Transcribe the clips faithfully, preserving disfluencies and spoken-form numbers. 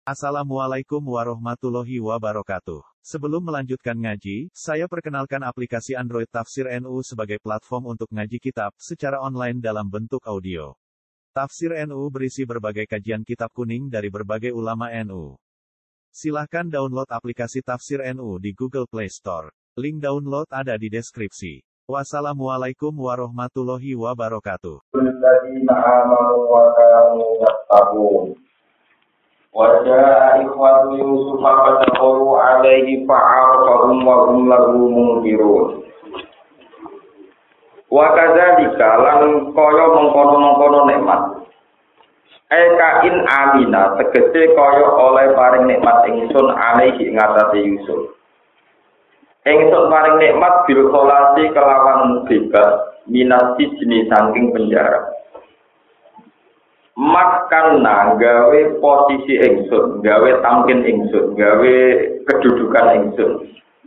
Assalamualaikum warahmatullahi wabarakatuh. Sebelum melanjutkan ngaji, saya perkenalkan aplikasi Android Tafsir N U sebagai platform untuk ngaji kitab secara online dalam bentuk audio. Tafsir N U berisi berbagai kajian kitab kuning dari berbagai ulama N U. Silahkan download aplikasi Tafsir N U di Google Play Store. Link download ada di deskripsi. Wassalamualaikum warahmatullahi wabarakatuh. Wajah ikhwatu Yusuf fadakhalu alaihi fa'arafahum wa hum lahu munkirun. Wa kadzalika lan kaya mengkono-mengkono nikmat. Eka in amina tegese kaya oleh paring nikmat ingsun alaihi ing atase Yusuf. Ingsun paring nikmat bil kholasi kelawan bebas minasi jenis saking penjara. Makanna gawe posisi ingsun, gawe tamkin ingsun, gawe kedudukan ingsun.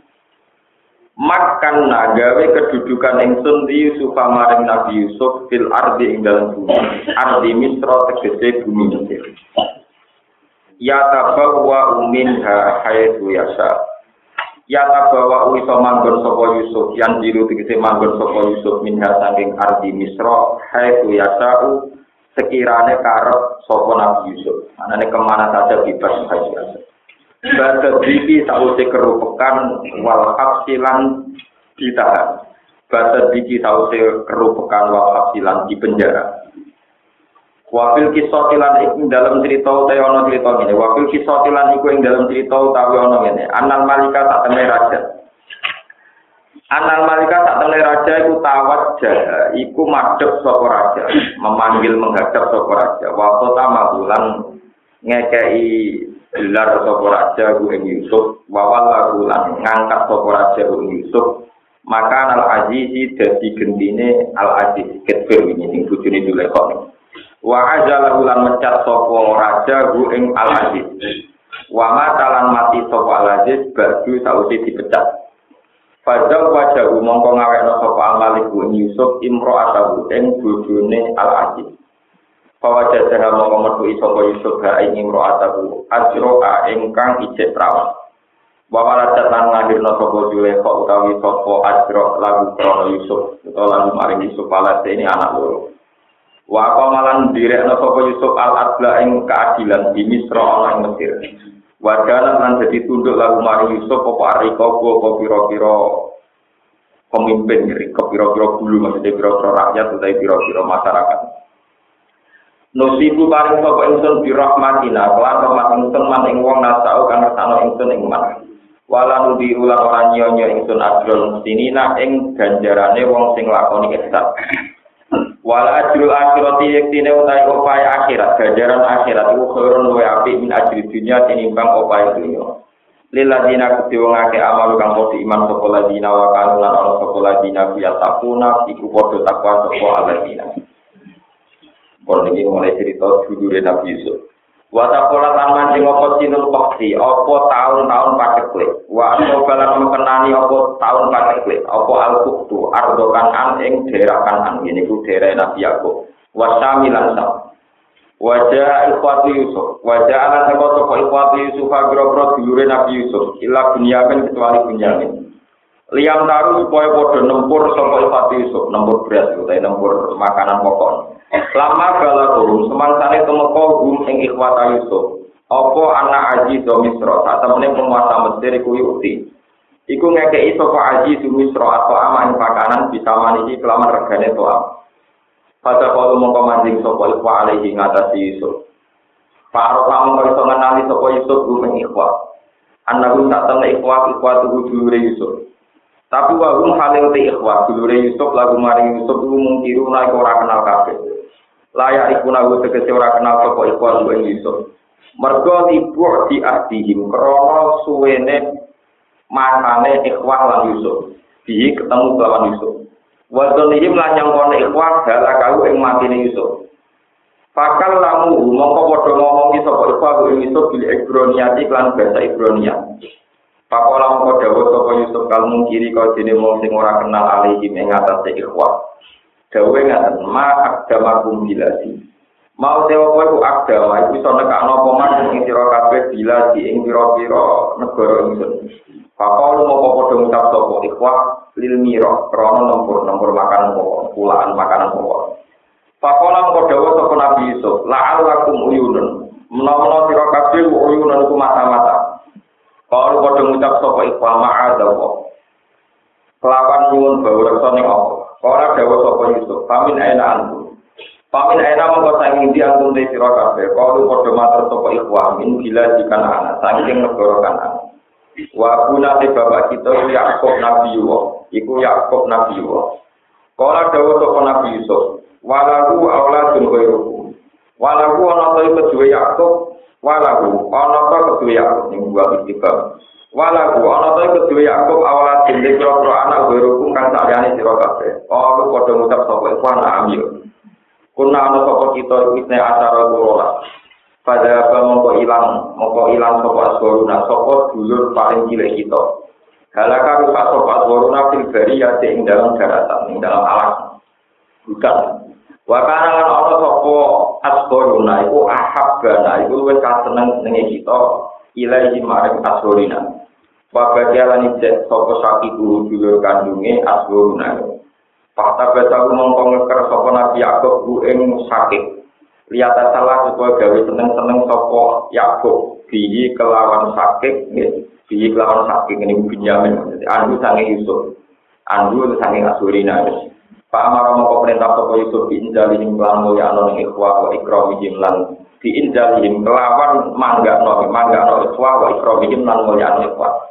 Makanna gawe kedudukan ingsun di Yusuf maring Nabi Yusuf fil ardi ing dalem bumi. Ardi Misra tegese bumi Mesir. Ya tabawwa minha haitsu yasha. Ya tabawwa iso manggon sapa Yusuf yang diru tegese manggon sapa Yusuf minha saking ardi Misra haitsu yasha. Sekiranya karep sapa Nabi Yusuf, anane kemana saja bebas saja. Bada diki sause kerupekan wal hafsilan ditahan. Bada diki sause kerupekan wal hafsilan di penjara. Wafil kisotilan iku dalam cerita utawi ana cerita ngene. Wafil kisotilan iku ing dalam cerita utawi ana ngene. Anal malika sak temne raja. Anal malika sak temne raja iku tawajjah, iku madhep sapa raja, memanggil menghadap sapa raja. Wa qatama bulan ngekei gelar sapa raja ku ing Yusuf, wa wala bulan ngangkat sapa raja ku Yusuf. Maka al azizi dadi gendine al aziz ketfir wingi sing bojone Zulaikha. Wa ajala bulan mecat sapa raja ku ing al aziz. Wa matalan mati sapa al aziz baju sausi dipecat. Fadzal wajahu mongko ngawekno sapa Al-Malik bin Yusuf imro'atahu ing bojone Al-Aziz. Fawajaha mongko metu sapa Yusuf ha ing imro'atahu ajroa ingkang ijek prawan. Wa waladat lan ngahirno sapa Zulaikha utawi sapa ajro lagu krana Yusuf utawa lagu maring Yusuf alate ini anak loro. Wa qamalan direkno sapa Yusuf al-adla ing keadilan di Misra ana ing Mesir. Wadalan lan jadi tunduk lagu mari Yusuf apa ariko apa pira-pira pemimpin riko pira-pira bulu maksudnya pira-pira rakyat utawa pira-pira masyarakat. Nusibu paring sapa ingsun bi rahmatina lan rahmat ingsun man ing wong nasau kang ngersano ingsun ing man. Wala nudi ulang ora nyonya ingsun ajrul mustinina ing ganjarane wong sing lakoni ihsan. Wala ajrul akhirati yektine utahe upaya akhirat ganjaran akhirat iku khairun wa apik min ajri dunya tinimbang upaya dunya. Lil ladina kudiwongake amal kang padha iman sapa ladina wa kanu lan ana sapa ladina ya takuna iku padha takwa sapa ladina. Kon iki mulai cerita judule Nabi Yusuf. Wa taqala taman sing apa sinul waqti apa taun-taun patekle. Wa balan mengenani apa taun patekle. Apa al-quktu ardokan an ing daerah Kanan ngene iku daerah Nabi Yakub. Wa samilan sam. Wajah ikhwati Yusuf. Wajah ala saka saka ikhwati Yusuf agro-agro dulure Nabi Yusuf. Ila Bunyamin kecuali Bunyamin. Liam taru supaya padha nempur saka ikhwati Yusuf, nempur beras utawa nempur makanan pokok. Lama balaghum semangsane temeka gum ing ikhwata Yusuf. Apa anak Aji do Misra, satemene penguasa Mesir iku yuti. Iku ngekeki sapa Aji do Misra atau aman pakanan bisa maniki kelaman regane toa. Pada kalau mongko manjing sapa ikhwa alaihi ngatasi Yusuf. Faro kamu iso ngenali sapa Yusuf gum ing ikhwa. Anaku tak temne ikhwa ikhwa tuku dulure Yusuf. Tapi wahum haling te ikhwa dulure Yusuf lagu maring Yusuf lu mungkiru nek ora kenal kabeh. Layak iku nahu tegese ora kenal sapa ikhwan luwih Yusuf. Mergo ibu di ahdihim krana suwene masane ikhwan lan Yusuf. Di ketemu lawan Yusuf. Wa dzalihim lan nyangkone ikhwan dalakahu ing matine Yusuf. Fakal lamu mongko padha ngomongi sapa ikhwan ing Yusuf bil Ibraniati lan bahasa Ibrania. Pakola mongko dawuh sapa Yusuf kalmu kiri kau dene wong sing ora kenal alihim ing atase ikhwan. Dawe ngaten ma agamakum bilasi. Mau dewa kowe ku agama iku iso nekakno apa man ing sira kabeh bila di ing pira-pira negara ingsun. Pakau mau padha ngucap sapa ikhwah lil mira krana nombor-nombor makanan pokok, pulaan makanan pokok. Pakau lan padha sapa Nabi Yusuf, la'allakum uyunun. Menawa sira kabeh uyunun iku mata-mata. Kalau padha ngucap sapa ikhwah ma'adzallah. Kelawan nyuwun bawreksa ning apa? Ora dawuh sapa Yusuf, pamin aina antum. Pamin aina mongko saking ndi antum te sira kabeh. Kalau padha matur sapa ikhwah min bila dikan anak saking negara Kanaan. Wa kuna te bapak kita Yakub Nabi Yusuf, iku Yakub Nabi Yusuf. Kalau dawuh sapa Nabi Yusuf, walahu auladun ghairukum. Walahu ana ta kedue Yakub, walahu ana ta kedue Yakub ning buah istiqam. Walahu ana ta kedue Yakub auladun dikira anak ghairukum kang saliyane sira kabeh. Kalau padha ngucap sapa ikhwan amil. Kuna ana sapa kita isne acara kurola. Pada apa mongko ilang, mongko ilang sapa aswaruna sapa dulur paling cilik kita. Halaka rusak sapa aswaruna fil bariyah ing dalam daratan, ing dalam alam. Bukan. Wa kana lan ana sapa aswaruna iku ahabbana iku luwih kaseneng senenge kita ilahi maring aswarina. Wa badialan ijek sapa sakiku dulur kandunge aswaruna. Fakta besaku mongko ngeker sapa Nabi Yakub ku ing sakit. Lihat salah supaya gawe seneng-seneng sapa Yakub bihi kelawan sakit nggih. Bihi kelawan sakit ini Binyamin maksudnya andu sange Yusuf. Andu sange Asurina. Pak Amar mongko perintah sapa Yusuf diinjalihim lan mulyano ning ikhwa wa ikramihim lan diinjalihim kelawan manggano manggano ikhwa wa ikramihim lan mulyano ikhwa.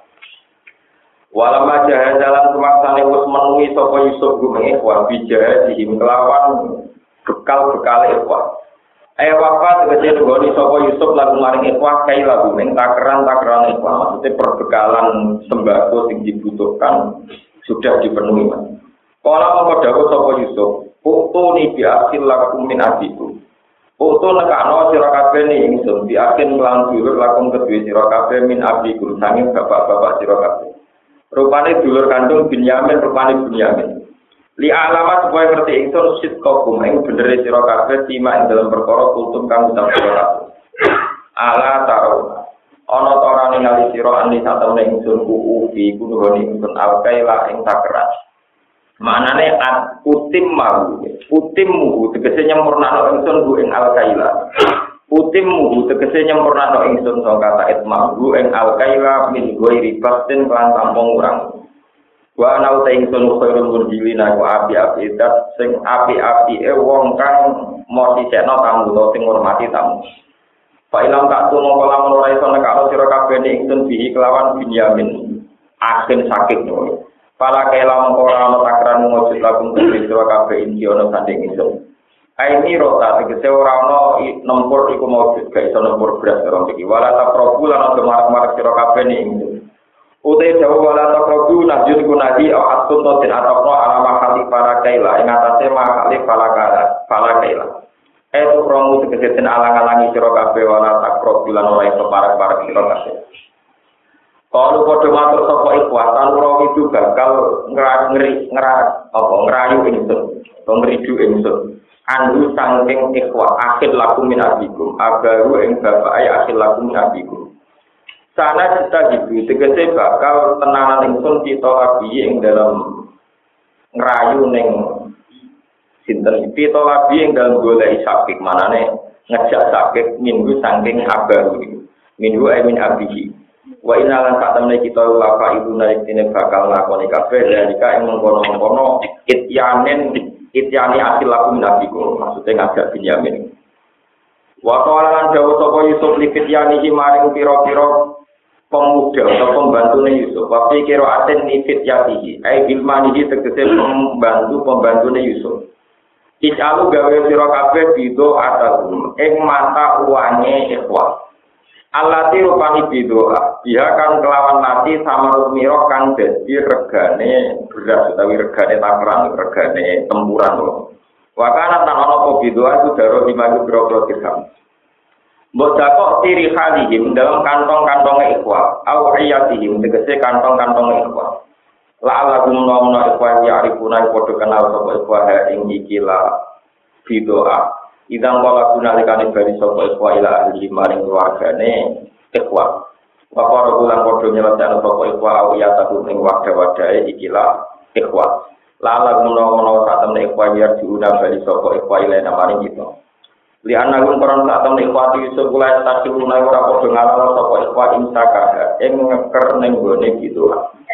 Walama jahazalan semaksane wis menuhi sapa Yusuf gumeng ikhwa bijahadihim kelawan bekal-bekal ikhwa. Ayo wafat tegese nggoni sapa Yusuf lagu maring ikhwa kaila gumeng takeran-takeran ikhwa maksudnya perbekalan sembako sing dibutuhkan sudah dipenuhi Mas. Kala mongko dawuh sapa Yusuf, "Uktu ni biasil lakum min abiku." Uktu nekakno sira kabeh ni ingsun biakin lan dulur lakum kedue sira kabeh min abiku sanging bapak-bapak sira kabeh. Rupane dulur kandung Binyamin, rupane Binyamin. Li alamat supaya ngerti ingsun sitqakum ing bener sira kabeh tima ing dalam perkara kultum kang ucap sira kabeh. Ala taruna. Ana ta ora ningali sira andi satemene ingsun ku ubi kunuhoni ingsun alkaila ing takeran. Maknane at utim mau, utim mu tegese nyempurnakno ingsun ku ing alkaila. Utim mu tegese nyempurnakno ingsun saka kata itmahu ing alkaila min ghairi batin kan tampung urang. Wa ana uta ingsun khairul murjilina ku api-api dat sing api-apike wong kang mosisekno tamu sing ngurmati tamu. Fa ilang tak tuno kala ora iso nekakno sira kabeh ingsun bihi kelawan Binyamin. Akhir sakit no. Pala kela mongko ora ana takran mujud lagu sira kabeh iki ana sanding ingsun. Aini rota tegese ora ana nempur iku mujud gak iso nempur beras ora iki. Wala ta probu lan ana marak-marak sira kabeh ingsun. Utai jauh wala takrobu najud kunadi au atun totin atapno ala makali para kaila ing atase makali para kaila para kaila etu romu tegesen alang-alangi sira kabeh wala takrobu lan ora iso parek-parek sira kabeh. Kalau padha matur sapa ikhwah tan ora itu bakal ngeri ngerak apa ngrayu ingsun pemridu ingsun andu saking ikhwah akhir lakum min abikum agaru ing bapak ay akhir lakum min abikum. Sana kita gitu, tegese bakal tenanan ingsun kita lagi yang dalam ngerayu neng sinten kita lagi yang dalam golek sakit manane ngejak sakit minggu saking abaru minggu amin abihi wa inalan sak temene kita lapa ibu naik ini bakal lakoni kabeh dalika ing mengkono-mengkono ityanen ityani asil laku nabiku maksudnya ngajak Binyamin wa qalan dawu sapa Yusuf lifityani maring pira-pira pemuda atau pembantune Yusuf. Wafi kira aten nifit yatihi. Ai bilmanihi tegese pembantu pembantune Yusuf. Icalu gawe sira kabeh bido atagum ing mata uane ikhwah. Allati rupani bidoa. Dia kan kelawan nati sama rumiro kang dadi regane beras utawi regane takeran, regane tempuran lho. Wa kana tan ana apa bidoa iku daro lima boro dirham. Mbok dakok tiri halihim dalam kantong-kantongnya ikhwah au iyatihim tegese kantong-kantongnya ikhwah la'alahum nomna ikhwah ya'rifuna podo kenal sapa ikhwah ing iki la bidoa Idang kala gunalikane bari sapa ikhwa ila ahli maring keluargane ikhwa. Bapak rulang padha nyelesaikan sapa ikhwa awiyah tahu ing wadah-wadahe ikilah ikhwa. Lala menawa-menawa sak temne ikhwa yer diundang bali sapa ikhwa ila maring kita. Li anagun koron sak temne ikhwa Yusuf kula tak lunai ora padha ngalala sapa ikhwa insaka ing ngeker ning gone gitu.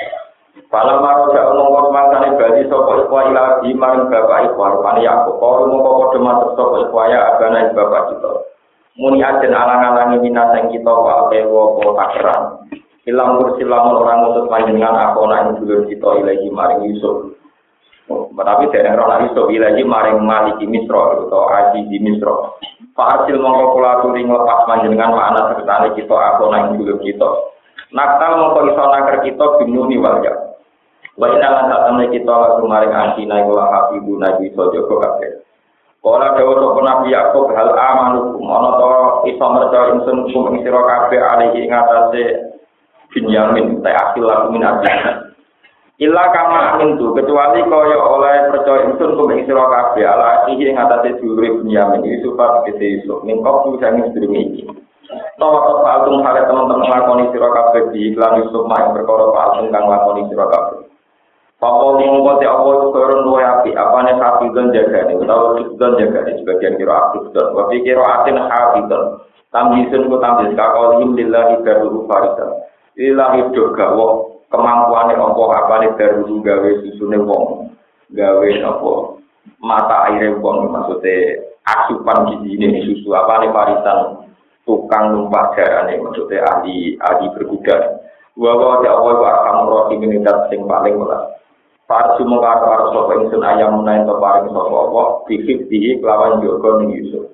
Pala maro jak omong mangkane bali sapa ikhwa ila di maring bapak ikhwa rupane Yakub. Kala mongko padha matur sapa ikhwa ya agane bapak kita. Muni ajen alang-alangi minaseng kita wa pewo po pakeran. Ilang kursilamun orang ngutus panjenengan aku nak dulur kita ilahi maring Yusuf. Tapi dereng roh Yusuf ilahi maring Maliki Misra atau Aziz Misra. Fa'asil mongko kula aturi nglepas panjenengan makna sertane kita aku nak dulur kita. Nakal mongko iso naker kita binuni walya. Wa inna lan satamne kita lagu maring antina kula hafibu nabi iso jaga kabeh. Kala dawuh sapa Nabi Yakub hal amanukum ana to iso merca ingsun kum ing sira kabeh alihi ing atase Binyamin ta akil laku min abiyana. Illa kama amin tu kecuali kaya oleh percaya ingsun kum ing sira kabeh ala iki ing atase dulure Binyamin Yusuf kete Yusuf ning kok sing sedurunge iki. Tawa patung hale teman-teman lakoni sira kabeh di iklan Yusuf mak perkara patung kang lakoni sira kabeh. Papa mongko te apa koron luwe api apane hafizan jagane utawa hafizan jagane sebagian kira aktif dan wa kira atin hafizan tamyisun ku tamyiz kakolim lillahi darul farisa lillahi dogawa kemampuane apa apane darul gawe susune wong gawe apa mata aire wong maksude asupan gizine susu apane farisan tukang numpak jarane maksude ahli ahli berkuda wa wa ya Allah wa kamro sing sing paling welas. Farsu mengkata harus sopa ingsun ayam menaik keparing sopa Allah Bihib dihi kelawan Joko ning Yusuf.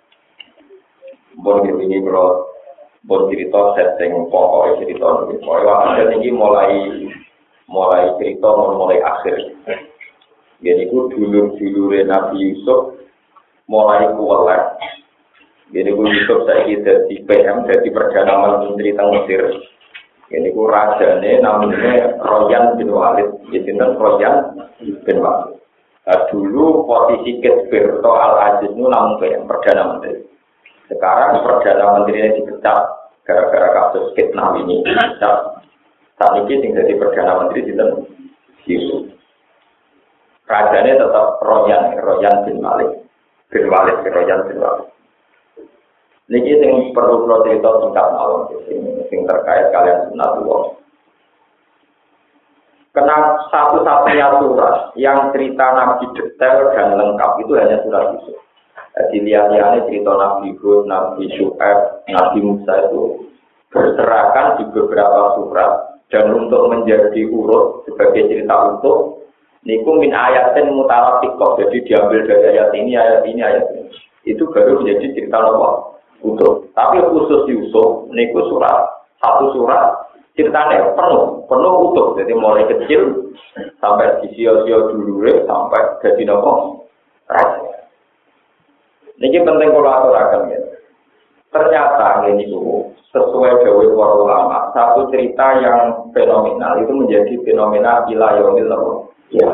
Bon ini kalau bon cerita setting pokoknya cerita ini pokoknya akhir ini mulai mulai cerita mulai akhir. Jadi itu dulur-dulur Nabi Yusuf mulai kualat. Jadi itu Yusuf saya jadi P M jadi Perdana Menteri tentang Mesir. Ini ku rajane namanya Royan bin Walid, jadi kan Royan bin Walid. Nah, dulu posisi Ketberto Al-Aziz itu namun kayak Perdana Menteri. Sekarang Perdana Menterinya dipecat gara-gara kasus Ketnam ini. Dipecat. Saat ini tinggal di Perdana Menteri di Yusuf. Rajane tetap Royan, Royan bin Walid, bin Walid, Royan bin Walid. Niki sing perlu kula cerita singkat mawon sing terkait kalian sunatullah. Karena satu-satunya surat yang cerita Nabi detail dan lengkap itu hanya surat Yusuf. Jadi lihat-lihatnya cerita Nabi Hud, Nabi Syu'aib, Nabi Musa itu berserakan di beberapa surat dan untuk menjadi urut sebagai cerita utuh niku min ayatin mutalafiqah. Jadi diambil dari ayat ini, ayat ini, ayat ini. Itu baru menjadi cerita apa? Utuh. Tapi khusus Yusuf, niku surat satu surat ceritanya penuh, penuh utuh. Jadi mulai kecil sampai di sio-sio dulu sampai jadi nopo raja. Niki penting kalau aturaken ya. Ternyata ini tuh sesuai dawuh para ulama, satu cerita yang fenomenal itu menjadi fenomena ilayomil ya.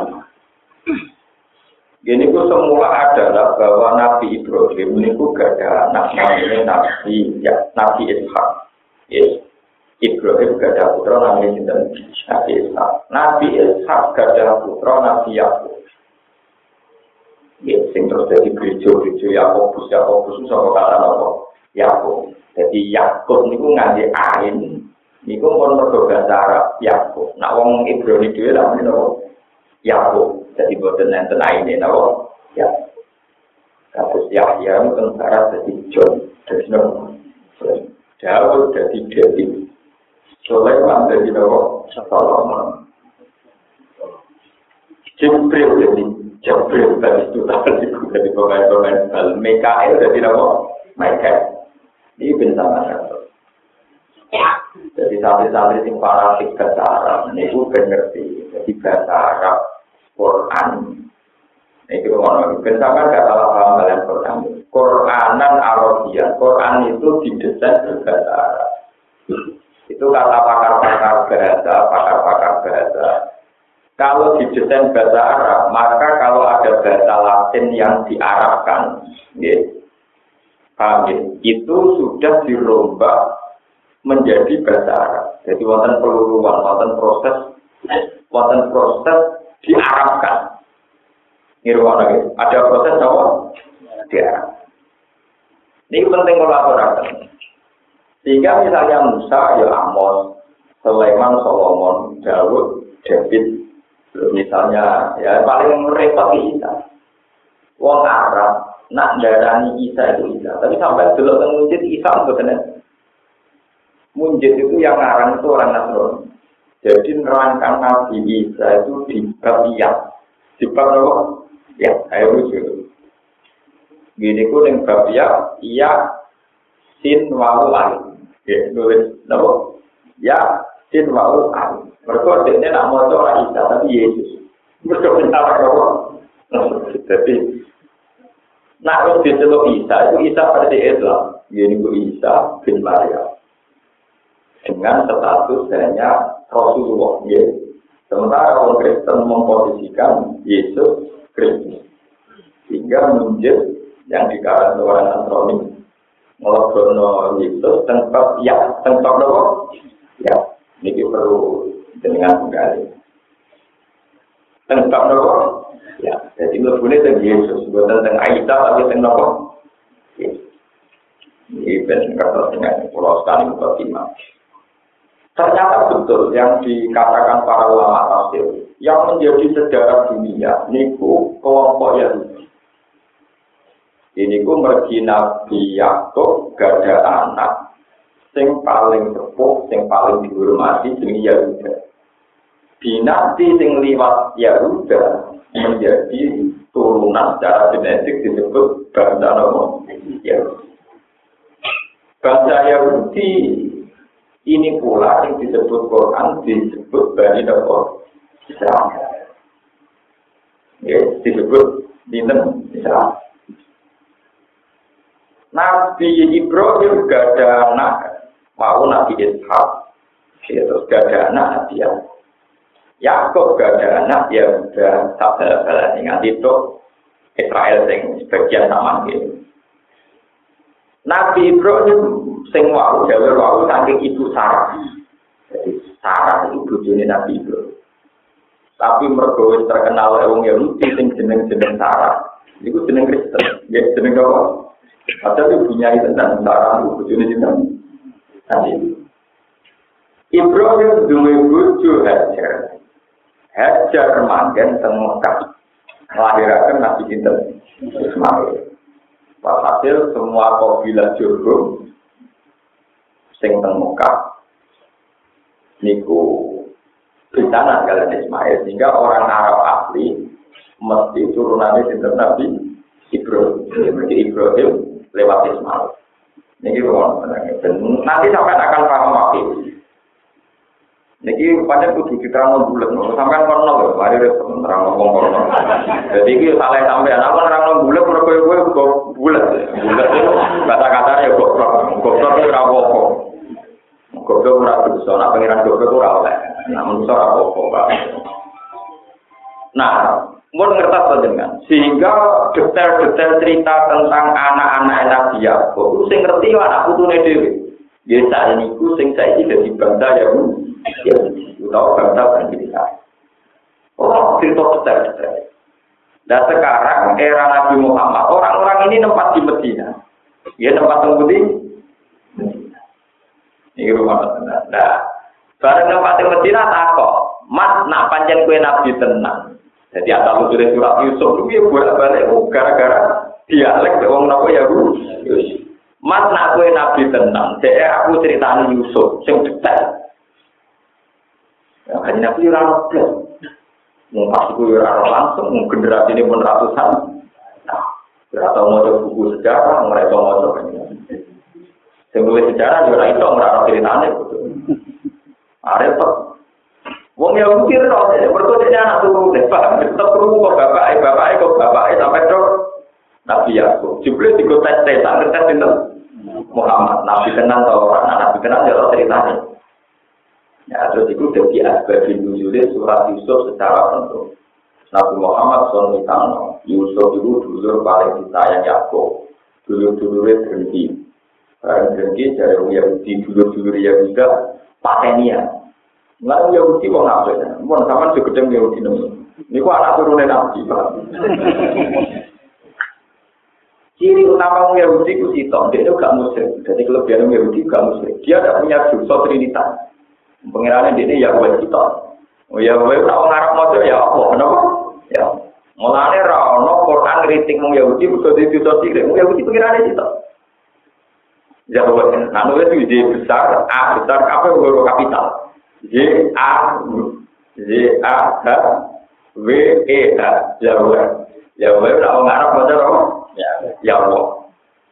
Ini ku semula adalah bahwa Nabi Ibrahim ini ku gak ada anak namanya Nabi ya Nabi Ishak. Yes. Ibrahim gak ada putra namanya Nabi Ishak. Nabi Ishak gak ada putra Nabi Yakub. Yes, sing terus jadi gereja-gereja Yakobus Yakobus itu sama kata apa? Yakub. Jadi Yakub ini ku ngandi ain. Ini ku pun berbahasa Arab Yakub. Nah, wong Ibrahim itu namanya apa? Yakub. Jadi boten enten aine napa? Ya. Kados Yahya mungkin barat jadi John, jadi napa? Daud jadi David. Sulaiman jadi napa? Solomon. Jibril jadi Jibril tadi itu tadi jadi pemain-pemain bal. Mikael jadi napa? Mikael. Ini bersama satu. Jadi santri-santri sing fanatik bahasa Arab niku ben ngerti. Jadi bahasa Arab Quran. Itu ngono. Bentangan gak salah paham kalian Quran. Quranan Arabia. Quran itu didesain berbahasa Arab. Itu kata pakar-pakar bahasa, pakar-pakar bahasa. Kalau didesain bahasa Arab, maka kalau ada bahasa Latin yang diarabkan, ya, paham ya? Itu sudah dirombak menjadi bahasa Arab. Jadi wonten peluruan, wonten proses, wonten proses diarabkan. Nirwana, ada proses apa? Diarab. Ini penting kolaborasi. Sehingga misalnya Musa, ya Amos, Sulaiman, Solomon, Daud, David. Misalnya, ya paling repot Isa. Wong Arab nak darani Isa itu Isa, tapi sampai dulu teng Munjid Isa mboten. Munjid itu yang ngarang itu orang Nasrani. Jadi nerangkan Nabi Isa itu di bab ya. Di bab apa? Ya, ayo lucu. Gini ku ning bab ya, iya sin wau alif. Ya, nulis napa? Ya sin wau alif. Mereka ini nak mau orang Isa, tapi Yesus. Mereka minta apa? Jadi, nak harus diceluk Isa, itu Isa versi Islam. Ini itu Isa bin Maryam. Dengan status hanya Rasulullah. Ya. Sementara orang Kristen memposisikan Yesus Kristus. Sehingga menjadi yang dikatakan orang Nasrani. Melakukan Yesus, tempat ya, tempat apa? Ya, ini perlu dengan kembali. Tentang nopo, ya. Jadi lebihnya tentang Yesus, bukan tentang Aisyah, tapi tentang nopo. Ini benar dengan pulau sekali mukaddimah. Ternyata betul yang dikatakan para ulama tafsir, yang menjadi sejarah dunia, niku kelompok Yahudi. Ini ku mergi Nabi Yakub gada anak, sing paling sepuh, sing paling dihormati jenenge Yahuda. Dinasti sing liwat Yahuda menjadi turunan secara genetik disebut bangsa Yahudi. Bangsa Yahudi ini pula yang disebut Quran disebut Bani Israel. Ya, disebut Dinten Israel. Nabi Ibrahim gak ada anak, mau Nabi Ishak, terus gak ada anak Nabi Yakub. Yakub gak ada anak, ya udah tak bala-bala ingat itu Israel yang sebagian sama gitu. Nabi Ibrahim sing wau dewe wau saking ibu Sarah. Jadi Sarah itu bojone Nabi Ibrahim. Tapi mergo wis terkenal wong Yahudi sing jeneng-jeneng Sarah. Iku jeneng Kristen, nggih jeneng apa? Padahal ibunya itu tentang Sarah itu bojone jeneng Nabi. Ibrahim duwe bojo Hajar. Hajar manggen teng Mekah. Nglahiraken Nabi sinten? Ismail. Walhasil semua kabilah Jurhum sing teng Mekah niku bencana kalian Ismail, sehingga orang Arab asli mesti turunannya sinten Nabi Ibrahim. Jadi Ibrahim lewat Ismail. Niki wong nanti sampai akan paham waktu. Niki pancen kudu diterangno bulet, sampean kono lho, mari rek terang ngomong kono. Jadi iki salah sampean, aku nerangno bulet mergo kowe kok bulet. Bulet itu kata-katane ya kok goblok ora apa-apa. Goblok ora bisa, nek pengiran goblok ora oleh. Namun ora apa-apa, Pak. Nah, mun ngertos panjenengan, sehingga detail-detail cerita tentang anak-anak Nabi Yakub, sing ngerti anak putune dhewe. Ya sak niku sing saiki dadi bangsa Yahudi. Ya, utawa bangsa Bani Israil. Oh, cerita detail-detail. Dan sekarang era Nabi Muhammad, orang-orang ini tempat di Medina. Ya tempat temudi. Ini rumah tenang. Nah, bareng tempat di Medina takok, Mas nak pancen kue Nabi tenang. Jadi asal usulnya surat Yusuf itu ya bolak-balik gara-gara dialek wong napa ya Yusuf. Mas nak kue Nabi tenang. Dek aku ceritani Yusuf sing detail. Ya, kan Nabi ora ono. Mau pas kuwi ora langsung, mau generasi ini pun ratusan. Nah, ora tau maca buku sejarah, ora tau maca kan. Sing nulis sejarah ora iso ora ono ceritane. Arep wong ya mikir kok, mergo dene anak turu deh, Pak. Tetep krungu kok bapake, bapake kok bapake sampai tok Nabi Yakub. Jebule digotes tes, tak ngerti sinten? Muhammad. Nabi tenan to ora? Nabi tenan ya ora ceritane. Ya, terus itu jadi asbabin nuzulnya surat Yusuf secara penuh. Nabi Muhammad shallallahu alaihi wasallam Yusuf itu dulur paling disayang Yakub. Dulur-dulurnya berhenti. Barang berhenti dari Yahudi, dulur-dulur Yahudi patenia. Nggak Yahudi kok ngapain? Mohon sama segedeng Yahudi namanya. Ini kok anak turunnya Nabi. Ciri utama Yahudi itu sitok, dia itu gak muslim. Jadi kelebihan Yahudi gak muslim. Dia tidak punya dosa trinitas. Pengirannya dia ini Yahweh sitok. Oh Yahweh tak ngarap motor ya apa? Kenapa? Ya. Mulane ra ono Quran kritik mung Yahudi betul itu dosa sirik. Mung Yahudi pengirannya sitok. Yahweh, nah itu J besar, A besar, apa huruf kapital? J A J A H W E H Yahweh. Yahweh tak ngarap motor apa? Ya, ya Allah.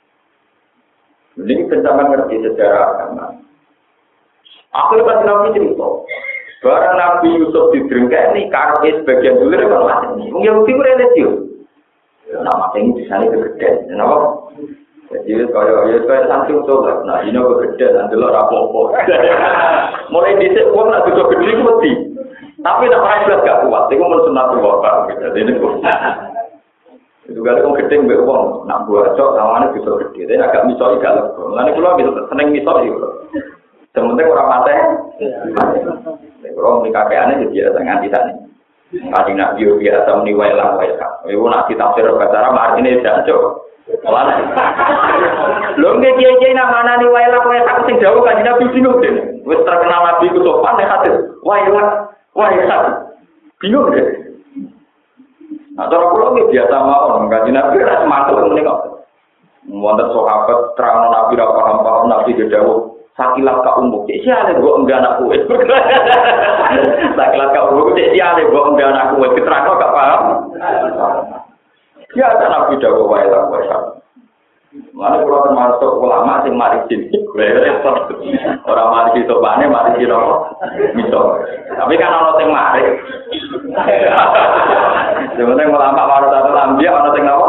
Jadi kita mengerti sejarah agama. Akhirnya pas Nabi cerita, barang Nabi Yusuf didrengkai ini karena sebagian dulu kan masih. Mungkin Yahudi religius. Nama ini di sana kegedean, kenapa? Jadi kalau ya saya santri untuk lah, nah ini kegedean, nanti lo rapopo. Mulai dicek uang nak juga gede mesti. Tapi nak pakai belas gak kuat, itu mensunat tuh jadi ini itu kali orang gede mbak uang, nak buat cok, lawannya bisa gede, tapi agak misoi gak lego. Lalu kalau bisa seneng misoi, sementara orang mati, kalau mereka kayaknya jadi biasa nganti tadi. Kali nak bio biasa meniwai lah, ibu nak ditafsir bahasa artinya tidak cok. Malah, lo nggak kiai-kiai nama niwai lah, kau yang sing jauh kan nabi bingung deh. Wes terkenal nabi itu sopan ya hati, wah ya, wah ya, bingung deh. Nah, cara pulau ini biasa mawon, kaji nabi rasa masuk ini kok. Wonten sahabat terang nabi ra paham-paham nabi gedawuh sakilat ka umuk. Cek siale mbok enggak anak kowe. Sakilat ka umuk cek siale mbok enggak anak kowe diterangno gak paham. Ya ada nabi dawuh wae lah wae. Mana pulau termasuk ulama sing mari sini, orang mari itu bane mari itu misal. Tapi kan orang sing mari. Sebenarnya ulama baru satu lambia orang sing apa?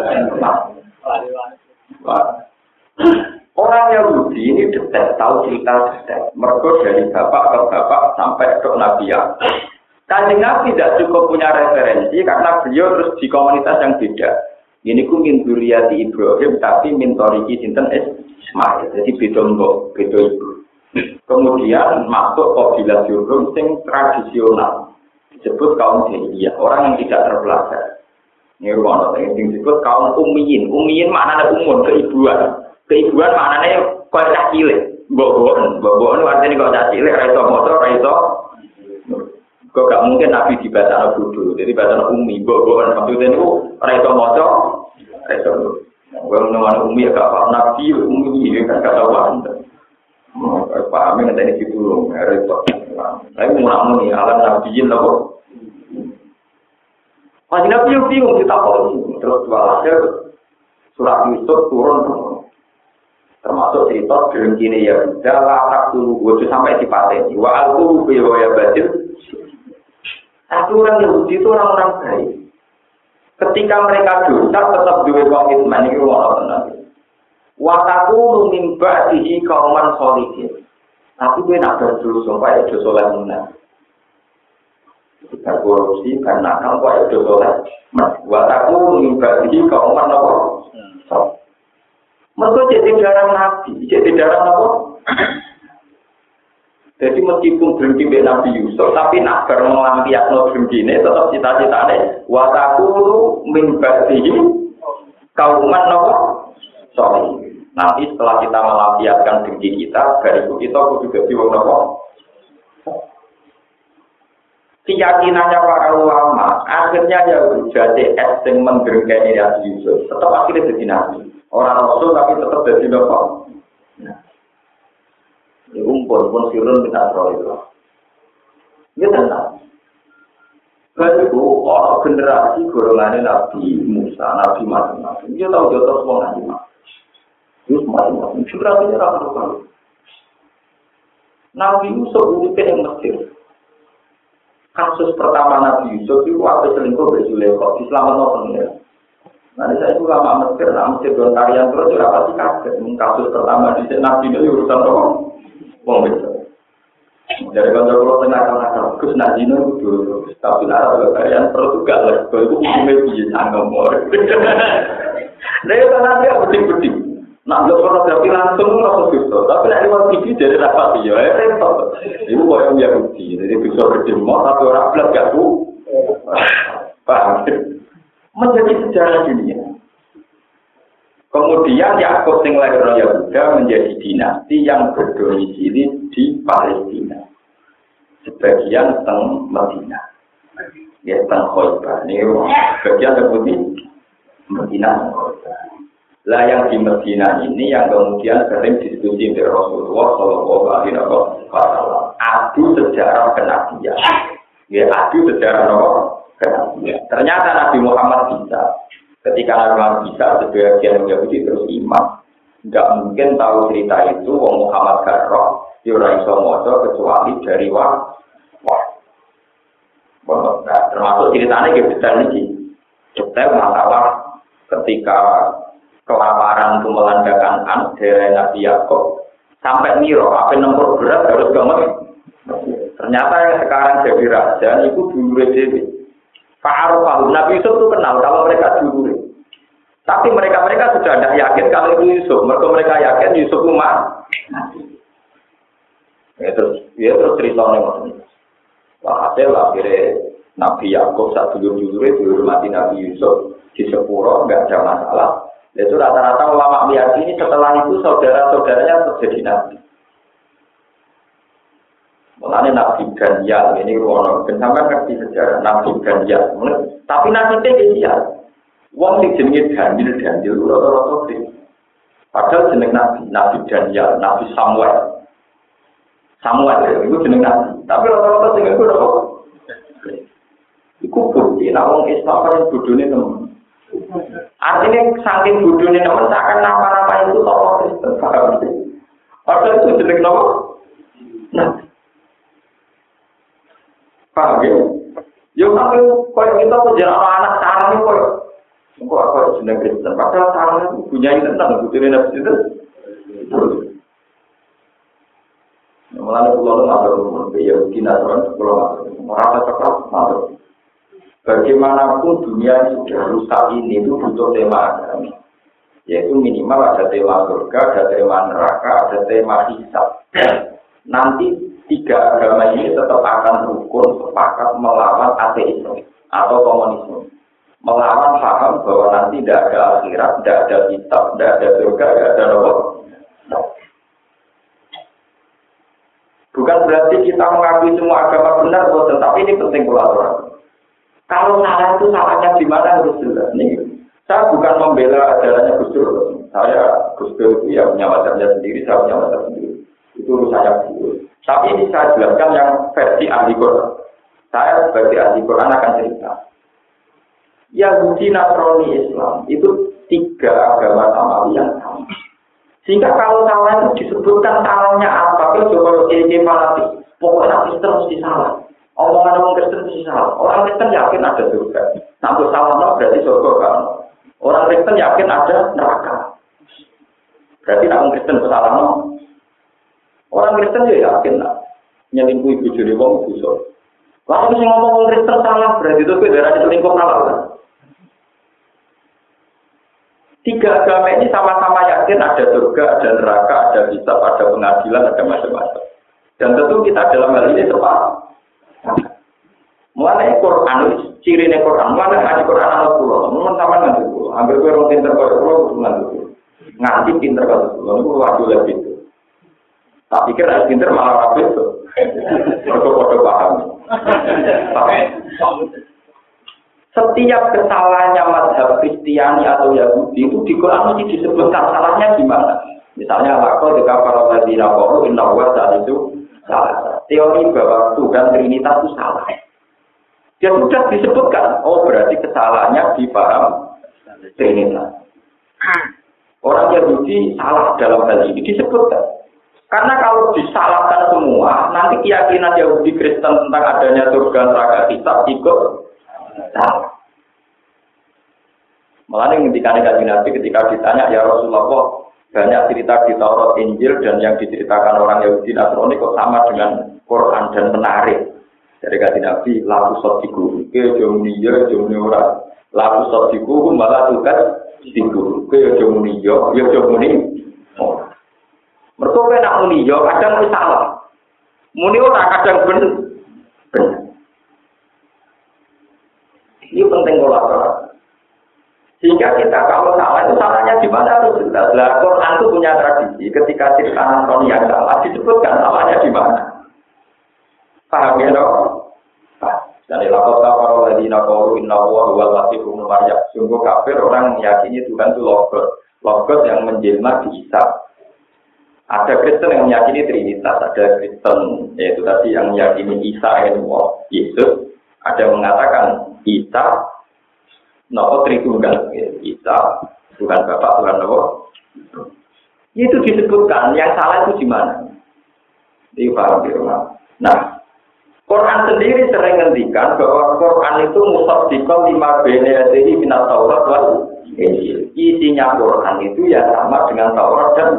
Orang Yahudi ini detail, tahu cerita detail. Mereka dari bapak ke bapak sampai ke Nabi ya. Kanjeng Nabi tidak cukup punya referensi karena beliau terus di komunitas yang beda. Ini ku min dzurriyyati Ibrahim tapi min thoriqi sinten Ismail. Jadi beda mbok, beda ibu. Kemudian masuk kabilah Jurhum sing tradisional. Disebut kaum jahiliyah, orang yang tidak terpelajar. Ini rumah yang disebut kaum ummiyin. Ummiyin maknanya umum, keibuan. Keibuan maknanya kau cah cilik. Mbok-mbokan, mbok-mbokan artinya kau cah cilik, ra iso maca, ra iso. Kok gak mungkin Nabi di bahasa bodoh, jadi bahasa umi, mbok-mbokan maksudnya itu ra iso maca, ra iso. Wong menawa umi gak paham Nabi umi kan gak tahu apa. Paham yang tadi ditulung, repot. Saya mau ngomong nih, alam nabiin lah kok. Masih nabi yang bingung kita kok terus walhasil surat Yusuf turun termasuk cerita gerengkine ya udah latak dulu gue sampai di pateni. Wa alku bihoya batil. Tapi orang Yahudi itu orang-orang baik. Ketika mereka dosa tetap dua komitmen ini orang tenang. Wataku mimba dihi kauman solihin. Tapi gue nak berdulu supaya itu soleh menang. Kita korupsi karena kamu kok itu soleh. Wataku mimba dihi kauman apa? Mereka jadi darah nabi, jadi darah apa? Jadi meskipun berhenti dengan Nabi Yusuf, tapi nak bermelampiasno berhenti ini tetap cita-citanya. Wataku mimba dihi kauman apa? Soleh. Nanti setelah kita melampiaskan dengki kita, dari itu kita juga diwang apa? Keyakinannya para ulama, akhirnya ya jadi es yang mendengkai Nabi Yusuf. Tetap akhirnya jadi Nabi. Orang Rasul tapi tetap jadi apa? Nah, ini umpun pun sirun kita tahu itu. Ini tenang. Lalu orang generasi golongannya Nabi Musa, Nabi macam-macam. Dia tahu jatuh semua Nabi Musa. Terus macam-macam. Generasinya rata-rata. Nabi Yusuf uripnya yang Mesir. Kasus pertama Nabi Yusuf itu waktu selingkuh bersulekot. Diselamat nopo ya. Nanti saya itu lama Mesir, nah Mesir don tarian terus juga pasti kaget. Kasus pertama di Nabi itu urusan apa? Wong Mesir. Dari kantor pulau tengah tengah Gus Najino itu tapi nara kalian perlu juga lah. Kalau itu umumnya bisa ngomong. Nah, karena dia penting-penting. Nah, kalau fotografi langsung langsung bisa. Tapi nak lewat T V jadi rapat dia, ya repot. Itu yang Yahudi. Jadi bisa berdemo tapi orang belas gak bu. Paham? Menjadi sejarah dunia. Kemudian Yakub sing lahir Yahuda menjadi dinasti yang berdomisili di Palestina. Sebagian teng Medina. Ya teng Khaybar. Ini bagian seperti Medina. Lah yang di Medina ini yang kemudian sering diskusi dengan Rasulullah Shallallahu Alaihi Wasallam. Adu sejarah kenabian. Ya adu sejarah kenabian. Ternyata Nabi Muhammad bisa. Ketika Nabi bisa sebagian Yahudi terus iman, nggak mungkin tahu cerita itu. Wong Muhammad Garroh, Yura Iso Mojo kecuali dari wah, wah. Nah, termasuk ceritanya kayak detail ini, detail masalah ketika kelaparan itu melandakan an dari Nabi Yakub sampai Miro, apa nomor berat harus gamet. Ternyata yang sekarang jadi raja itu dulu Dewi. Pak Arafah, Nabi Yusuf itu kenal kalau mereka dulu. Tapi mereka-mereka sudah tidak yakin kalau itu Yusuf. Mereka mereka yakin Yusuf itu mati. Ya terus, ya terus ceritanya maksudnya. Wah hasil akhirnya Nabi Yakub saat dulu-dulu itu dihormati Nabi Yusuf di Sepuro, nggak ada masalah. Itu rata-rata ulama meyakini setelah itu saudara-saudaranya terjadi Nabi. Mulanya Nabi Daniel ini ruang sampai ngerti sejarah Nabi Daniel. Tapi Nabi Daniel, wong sing jenenge Daniel Daniel rata-rata sing. Padahal jeneng Nabi, Nabi Daniel, Nabi Samuel. Samuel itu jeneng Nabi. Tapi rata-rata sing iku ora. Iku bukti nek wong Islam kan bodhone temen. Artinya saking bodhone temen akan nama-nama itu tokoh Kristen. Padahal itu jeneng nama. Nah, paham ya? Ya tapi kalau kita penjara anak sarang itu kalau kok apa jeneng Kristen? Padahal sarang itu punya itu tentang bukti Nabi itu. Mulanya pulau itu matur, ya kita orang pulau matur, merasa cekap matur. Bagaimanapun dunia yang sudah rusak ini itu butuh tema agama, yaitu minimal ada tema surga, ada tema neraka, ada tema hisab. Nanti tiga agama ini tetap akan rukun sepakat melawan ateisme atau komunisme, melawan paham bahwa nanti tidak ada akhirat, tidak ada hisab, tidak ada surga, tidak ada neraka. Bukan berarti kita mengakui semua agama benar, tetapi ini penting kolaborasi. Kalau salah itu salahnya di mana harus jelas. Nih, saya bukan membela ajarannya Gus Dur. Saya Gus Dur itu ya punya mazhabnya sendiri, saya punya mazhab sendiri. Itu urusannya Gus. Tapi ini saya jelaskan yang versi ahli Quran. Saya sebagai ahli Quran akan cerita. Yahudi, Nasrani, Islam itu tiga agama samawi yang sama. Sehingga kalau salah itu disebutkan salahnya apa? Kalau coba kayak fanatik, pokoknya Kristen mesti salah. Omongan orang Kristen mesti salah. Orang Kristen yakin ada surga. Namun salah no berarti surga kan. Orang Kristen yakin ada neraka. Berarti orang Kristen salah no. Orang Kristen ya yakin lah. Nyelingkuhi bujuri wong dosa. Lalu sing ngomong orang Kristen salah berarti itu darah selingkuh salah kan. Tiga agama ini sama-sama yakin ada surga, ada neraka, ada hisab, ada pengadilan, ada macam-macam. Dan tentu kita dalam hal ini tepat. Mulai Quran, ciri nih Quran, mulai ngaji Quran anak pulau, memang sama nanti pulau. Hampir gue orang pinter kalau pulau nanti pulau, nganti pinter kalau pulau, itu wajib lebih itu. Tak pikir ada pinter malah rapi itu, foto-foto paham. Setiap kesalahannya mazhab Kristiani atau Yahudi itu di Quran mesti disebutkan salahnya gimana. Misalnya lakon jika para ladina qalu inna wa saat itu salah. Teori bahwa Tuhan Trinitas itu salah. Dia sudah disebutkan. Oh berarti kesalahannya di paham Trinitas. Orang Yahudi salah dalam hal ini disebutkan. Karena kalau disalahkan semua, nanti keyakinan Yahudi Kristen tentang adanya surga neraka hisab ikut salah. Malah yang ketika Nabi Nabi ketika ditanya ya Rasulullah, banyak cerita di Taurat, Injil dan yang diceritakan orang Yahudi Nasrani kok sama dengan Quran dan menarik. Dari kata Nabi, laku sodiku, ke jomniya jomni ora, laku sodiku malah tugas diku, ke jomniya, ya jomni. Mereka nak muni yo kadang muni salah, muni ora kadang bener. Ini penting kolaborasi. Sehingga kita kalau salah itu salahnya di mana itu jelas. Lah Quran itu punya tradisi ketika cerita Nasrani yang salah disebutkan salahnya di mana. Paham ya dong? Dan ilakot para ladina qalu inna huwa huwal masih ibnu Maryam. Sungguh kafir orang meyakini Tuhan itu logos, logos yang menjelma di Isa. Ada Kristen yang meyakini Trinitas, ada Kristen yaitu tadi yang meyakini Isa itu Yesus. Ada yang mengatakan Isa nopo Tritunggal, Isa Tuhan Bapa, Tuhan Nopo. Itu disebutkan, yang salah itu di mana? Di paham di rumah. Nah, Quran sendiri sering ngendikan bahwa Quran itu musaddiqan lima baina yadayhi minat Taurat wal Injil. Isinya Quran itu ya sama dengan Taurat dan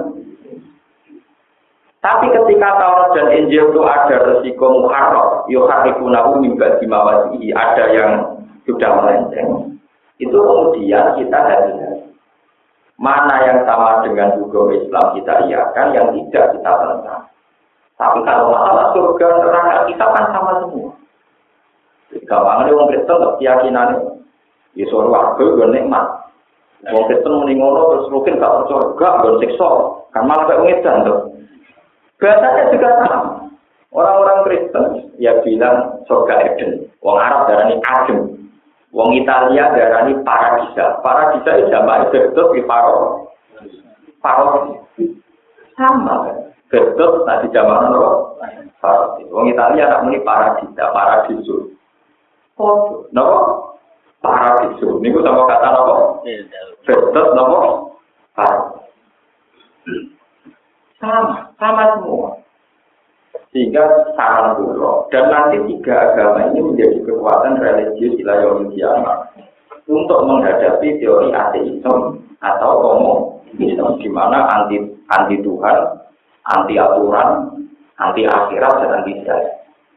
tapi ketika Taurat dan Injil itu ada resiko muharraf, yuharrifunahu min ba'di mawadihi, ada yang sudah melenceng. Itu kemudian kita hati-hati. Mana yang sama dengan hukum Islam kita iakan, yang tidak kita tentang. Tapi kalau masalah surga neraka kita kan sama semua. Gampangnya orang Kristen keyakinannya, ya surga gue nikmat. Orang Kristen muni ngono terus mungkin gak percaya, gak gue siksa, kan malah kayak ngedan tuh. Bahasanya juga sama. Orang-orang Kristen ya bilang surga Eden. Wong Arab darani Adem. Wong Italia darani Paradisa. Paradisa itu jamaah Gedot di Paro. Paro sama kan. Gedot tadi jamaah apa? Paradis. Wong Italia nak muni Paradisa, Paradiso. Oh, napa? Paradiso. Niku sama kata napa? Gedot napa? Paradis. Sama, sama semua. Sehingga saran dulu. Dan nanti tiga agama ini menjadi kekuatan religius ila yaumil qiyamah untuk menghadapi teori ateisme atau komunisme di mana anti anti Tuhan, anti aturan, anti akhirat dan anti saya.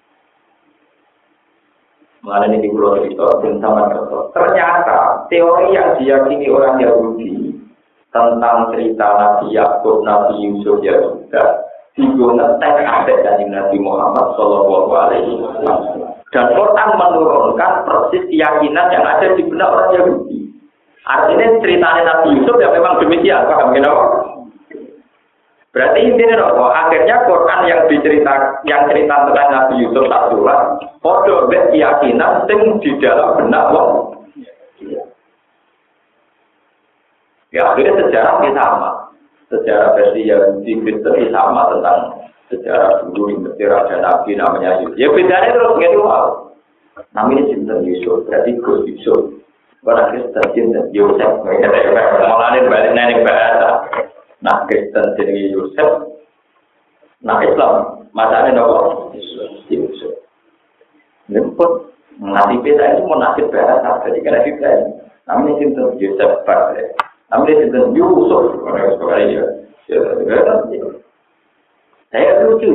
Mengenai di pulau itu tentang ternyata teori yang diyakini orang Yahudi tentang cerita Nabi Yakub, Nabi Yusuf ya sudah digunakan ada dari Nabi Muhammad Shallallahu Alaihi Wasallam. Dan Quran menurunkan persis keyakinan yang ada di benak orang Yahudi. Artinya ceritanya Nabi Yusuf ya memang demikian, paham kenapa? Berarti intinya loh, akhirnya Quran yang dicerita, yang cerita tentang Nabi Yusuf tak surat, podo keyakinan yang di dalam benak orang. Ya akhirnya sejarah ini sama. Sejarah versi Yahudi Kristen sama tentang sejarah dulu yang Raja Nabi namanya Yusuf. Ya bedanya terus gitu wow. Namanya Sinten Yusuf, berarti Gus Yusuf. Orang Kristen Sinten Yusuf, malahin balik nenek bahasa. Nah Kristen jadi Yusuf, nah Islam masanya nopo Yusuf. Lemput nasib kita itu mau nasib bahasa, jadi kena kita. Namanya Sinten Yusuf Bakre. Ambil itu Yusuf, orang sekali ya. Saya lucu.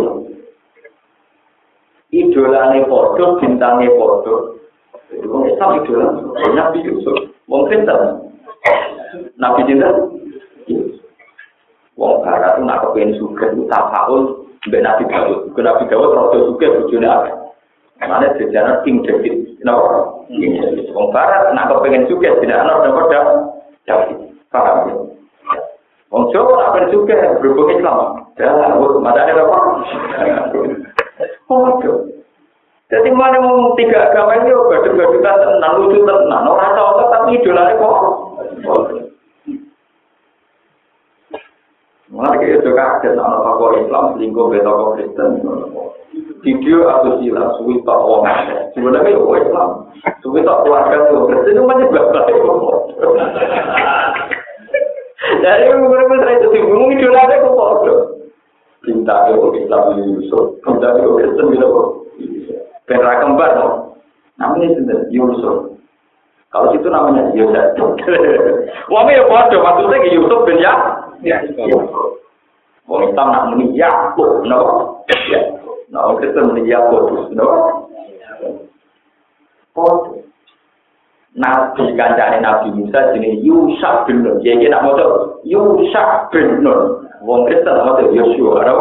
Idolane podo, bintangnya podo. Itu kan Islam idola. Nabi Yusuf, mungkin tak. Nabi cinta. Wong Barat itu nak kepengen suka itu tafaul mbek Nabi Dawud. Ke Nabi Dawud rada suka bojone akeh. Mane sejarah King David. Kenapa? King David. Wong Barat nak kepengen suka tidak ana dapat David. Paham ya? Wong Jawa apa juga berhubung Islam. Ya, wong madane apa? Oh, jadi mana ngomong tiga agama ini gaduh-gaduhan tenan, lucu tenan. Ora tau tapi idolane kok. Mulai kayak itu kaget anak tokoh Islam selingkuh be tokoh Kristen. Video atau sila suwi tok wong akeh. Sebenarnya yo Islam. Suwi tok keluarga yo Kristen itu macam bapak. Dari beberapa itu bingung idolanya kok bodoh. Cinta ke Islam Yusuf, cinta ke Kristen gitu kok. Pera kembar no. Namanya sendiri Yusuf. Kalau situ namanya Yusuf. Wah ya bodoh maksudnya Yusuf bin ya Ya. Wong Islam nak muni Yakub, no. Ya. Nah, orang Kristen muni Yakub, no. Oh. Nabi kancane Nabi Musa jenenge Yusha bin Nun. Jadi nak maca Yusha bin Nun. Wong Kristen maca Yosua, no.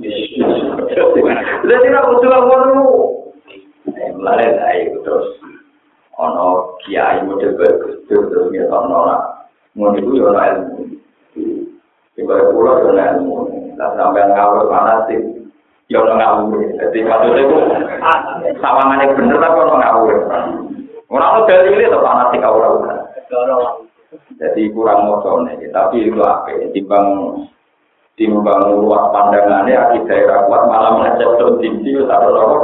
Jadi nak maca ngono. Mulai dari terus ono kiai model bagus terus ngetokno lah. Ngono iku yo ana ilmu. Ibarat pulau yo ana ilmu. Lah sampai ngawur fanatik yo ana ngawur. Dadi maksudnya iku sawangane bener ta ono ngawur. Ora ono dalile to fanatik ora ora. Jadi kurang mocone, tapi itu apik timbang timbang luas pandangannya akidah daerah kuat malah mengecek tinggi atau lorok.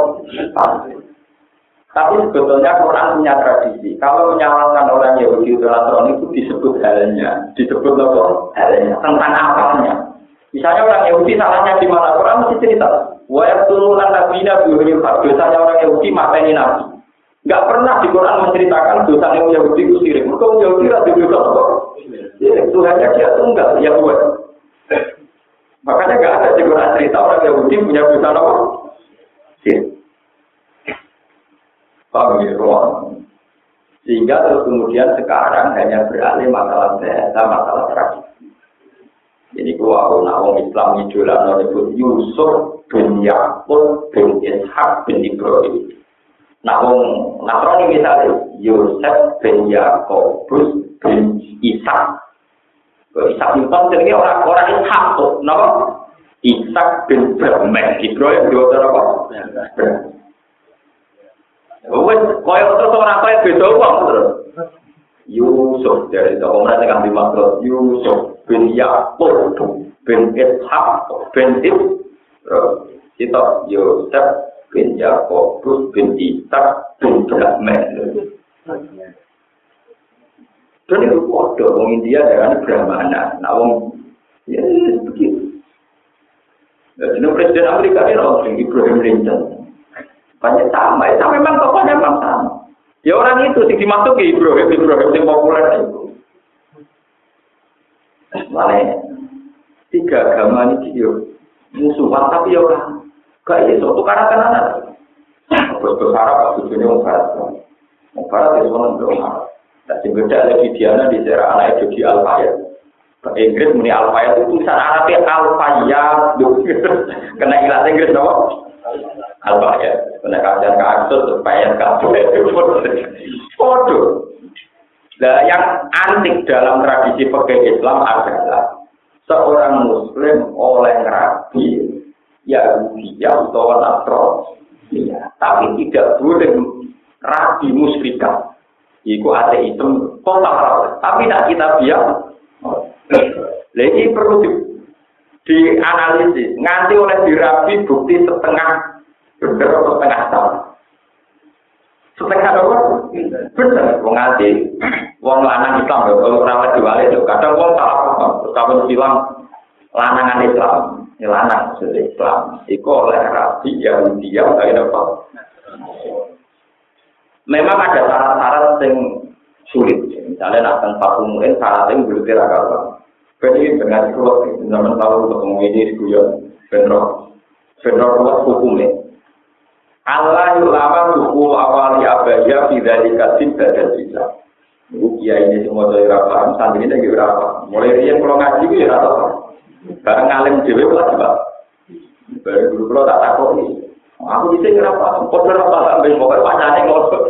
Tapi sebetulnya Quran punya tradisi. Kalau menyalahkan orang Yahudi atau Nasrani itu disebut halnya, disebut apa? Halnya tentang apanya. Misalnya orang Yahudi salahnya di mana? Quran mesti cerita. Wa yaqtuluna nabiyina bi ghairi haqq. Dosanya orang Yahudi mateni nabi. Enggak pernah di Quran menceritakan dosa yang Yahudi itu syirik. Mereka Yahudi itu dosa apa? Syirik. Tuhannya dia tunggal, ya buat. Makanya enggak ada di Quran cerita orang Yahudi punya dosa apa? Syirik. Paham ya, sehingga terus kemudian sekarang hanya beralih masalah bahasa, masalah tradisi. Jadi kalau orang Islam idola menyebut Yusuf bin Yakub bin Ishak bin Ibrahim. Nah, orang Nasrani misalnya Yusuf bin Yakub bin Ishak. Ishak itu jadi orang-orang Ishak tuh, nama Ishak bin Ibrahim. Ibrahim dua orang apa? Wes koyo terus ora koyo beda wong terus. Yusuf dari orang mereka kan dimaksud Yusuf bin Yakub bin Ishak bin Ibrahim. Kita Yusuf bin Yakub bin Ishak bin Ibrahim. Dan itu ada orang India dengan Brahmana. Nah, orang ya begitu. Jadi Presiden Amerika ini orang Ibrahim Lincoln. Banyak sama, itu memang tokohnya memang sama. Ya orang itu sih dimaksud ke Ibrahim, Ibrahim yang populer itu. Makanya tiga agama ini dia musuhan tapi ya orang gak ya suatu karena kanan. Bos Arab tujuannya orang Barat, orang Barat itu orang Barat. Dan sebetulnya ada videonya di daerah anak itu di Al-Fayed. Inggris muni Al-Fayed itu tulisan Arabnya Al-Fayed. Kena ilat Inggris dong. Al-Fayed. Kena kajian kasus supaya kabel foto. Nah, yang antik dalam tradisi fikih Islam adalah seorang Muslim oleh rabi Yahudi atau Nasrani, tapi tidak boleh rabi musyrikah. Iku ateisme total, tapi tidak kita biar. Lagi perlu di, dianalisis. Nganti oleh dirabi bukti setengah benar atau setengah salah. Setengah apa? Benar. Wong nganti wong lanang Islam kalau ora diwale itu kadang wong salah paham. Kalau bilang lanangan Islam, ya lanang Islam. Iku oleh rabi Yahudi yang kaya apa? Memang ada syarat-syarat yang sulit. Misalnya nak tempat umum syaratnya belum diragal. Jadi dengan keluar zaman tahun ketemu ini di Guyon, benro, benro hukumnya. Allah ulama hukum awali abaya tidak dikasih dan tidak. Iya ini semua dari rapat, santri ini lagi berapa? Mulai dia kalau ngaji itu ya rata. Barang ngalim dewi lah coba. Baru dulu kalau tak takut ini. Aku bisa kenapa? Kau berapa sampai pokoknya wacana ngotot.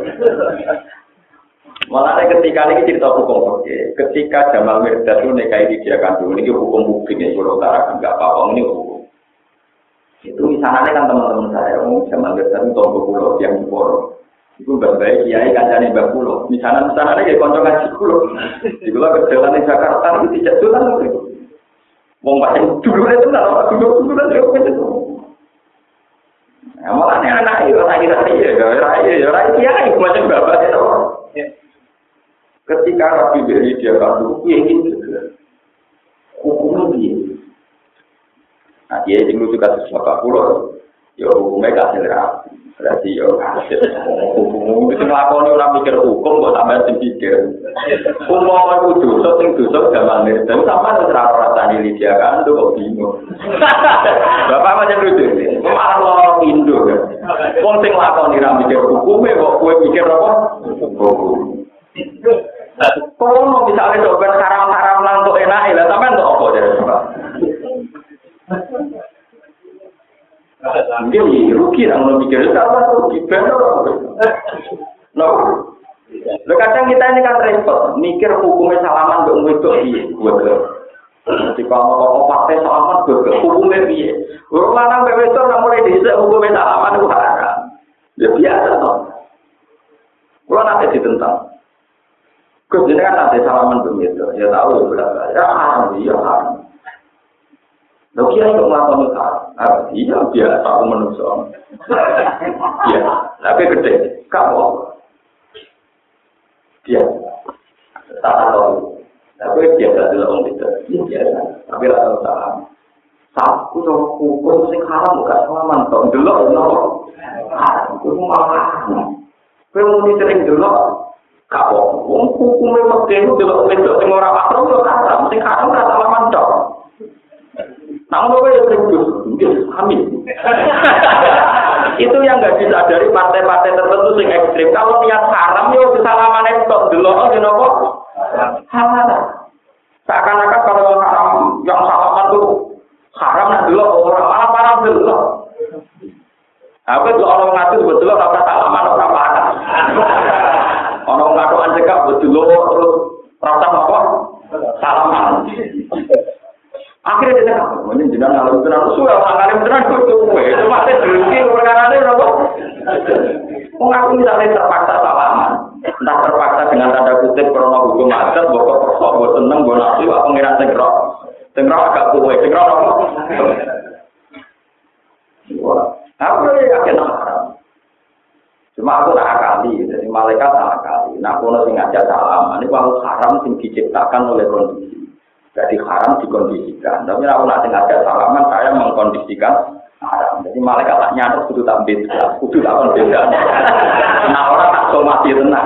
Malah ketika ini cerita hukum oke. Ketika Jamal Mirdad itu nikahi dia kandung ini hukum publik yang Pulau Utara enggak apa-apa ini hukum. Itu misalnya kan teman-teman saya, oh Jamal Mirdad itu tombol pulau yang di Poro. Itu berbaik kiai kancane Mbak Pulau. Misalnya misalnya kayak konco ngaji Pulau. Di Pulau berjalan di Jakarta itu tidak jalan itu. Wong paling dulu itu nggak dulu dulu itu itu. Nah, malah anak itu lagi lagi ya, raya ya, raya kiai macam bapak itu. Ketika Rabi beri dia kartu, dia ingin hukumnya dia. Nah dia ingin juga sesuatu pulau, ya hukumnya kasih Rabi. Berarti yo hukum itu nglakoni ora mikir hukum kok sampean sing pikir. Umpama iku dosa sing dosa gampang ngerti. Sampeyan ora rasani Lydia kan kok bingung. Bapak macam lucu. Malah loro pindo kan. Wong sing nglakoni ra mikir hukume kok kowe mikir apa? Hukum. Kalau misalnya dober haram-haram lang untuk enak, lah sampean untuk apa jadi? Mungkin rugi lah kalau mikir itu apa rugi benar. No, lo kadang kita ini kan repot, mikir hukumnya salaman untuk ngikut iya, buat Jadi kalau pakai salaman buat hukumnya iya. Orang lanang bebesor nggak mulai disek hukumnya salaman itu haram. Ya biasa toh. Kalau nanti ditentang, kemudian kan nanti salaman begitu, ya tahu ya berapa, ya haram, iya haram. Lo kira itu melakukan itu haram? Iya biasa aku manusia. Iya, tapi gede, kamu dia tak tahu, tapi biasa dulu orang itu, biasa, tapi rasa salah. Satu orang hukum sing haram bukan salaman, dong dulu, dulu, haram, itu malah. Kau mau sering dulu, kau hukumnya mesti itu dulu, itu sing orang haram itu haram, sing haram rasa salaman dong. Namun apa yang terjadi? Amin. Itu yang nggak disadari partai-partai tertentu yang ekstrim. Kalau niat haram, ya kesalahan itu dulu, oh kenapa? Haram. Seakan-akan kalau haram, yang salaman itu haram nah dulu orang malah parah dulu. Apa itu orang ngatur betul rasa salaman orang parah. Orang ngatur anjekap betul terus rasa apa? Salaman. Akhirnya dia cakap, ini jenang ngalim tenan, sudah orang ngalim tenan itu itu masih berhenti perkara ini berapa? Mengaku misalnya terpaksa salaman, entah terpaksa dengan tanda kutip karena hukum adat, bawa perso, bawa seneng, bawa nafsu, apa pengiran sengrok, sengrok agak kuwe, sengrok apa? Aku ini yakin haram. Cuma aku tak akali, jadi malaikat tak akali. Nah, aku nanti ngajak salaman, ini kalau haram yang diciptakan oleh kondisi. Jadi haram dikondisikan. Tapi aku nanti ngajak salaman, saya mengkondisikan haram. Jadi malaikat tak nyadar, kudu tak beda, kudu tak beda. Nah orang tak somasi tenang.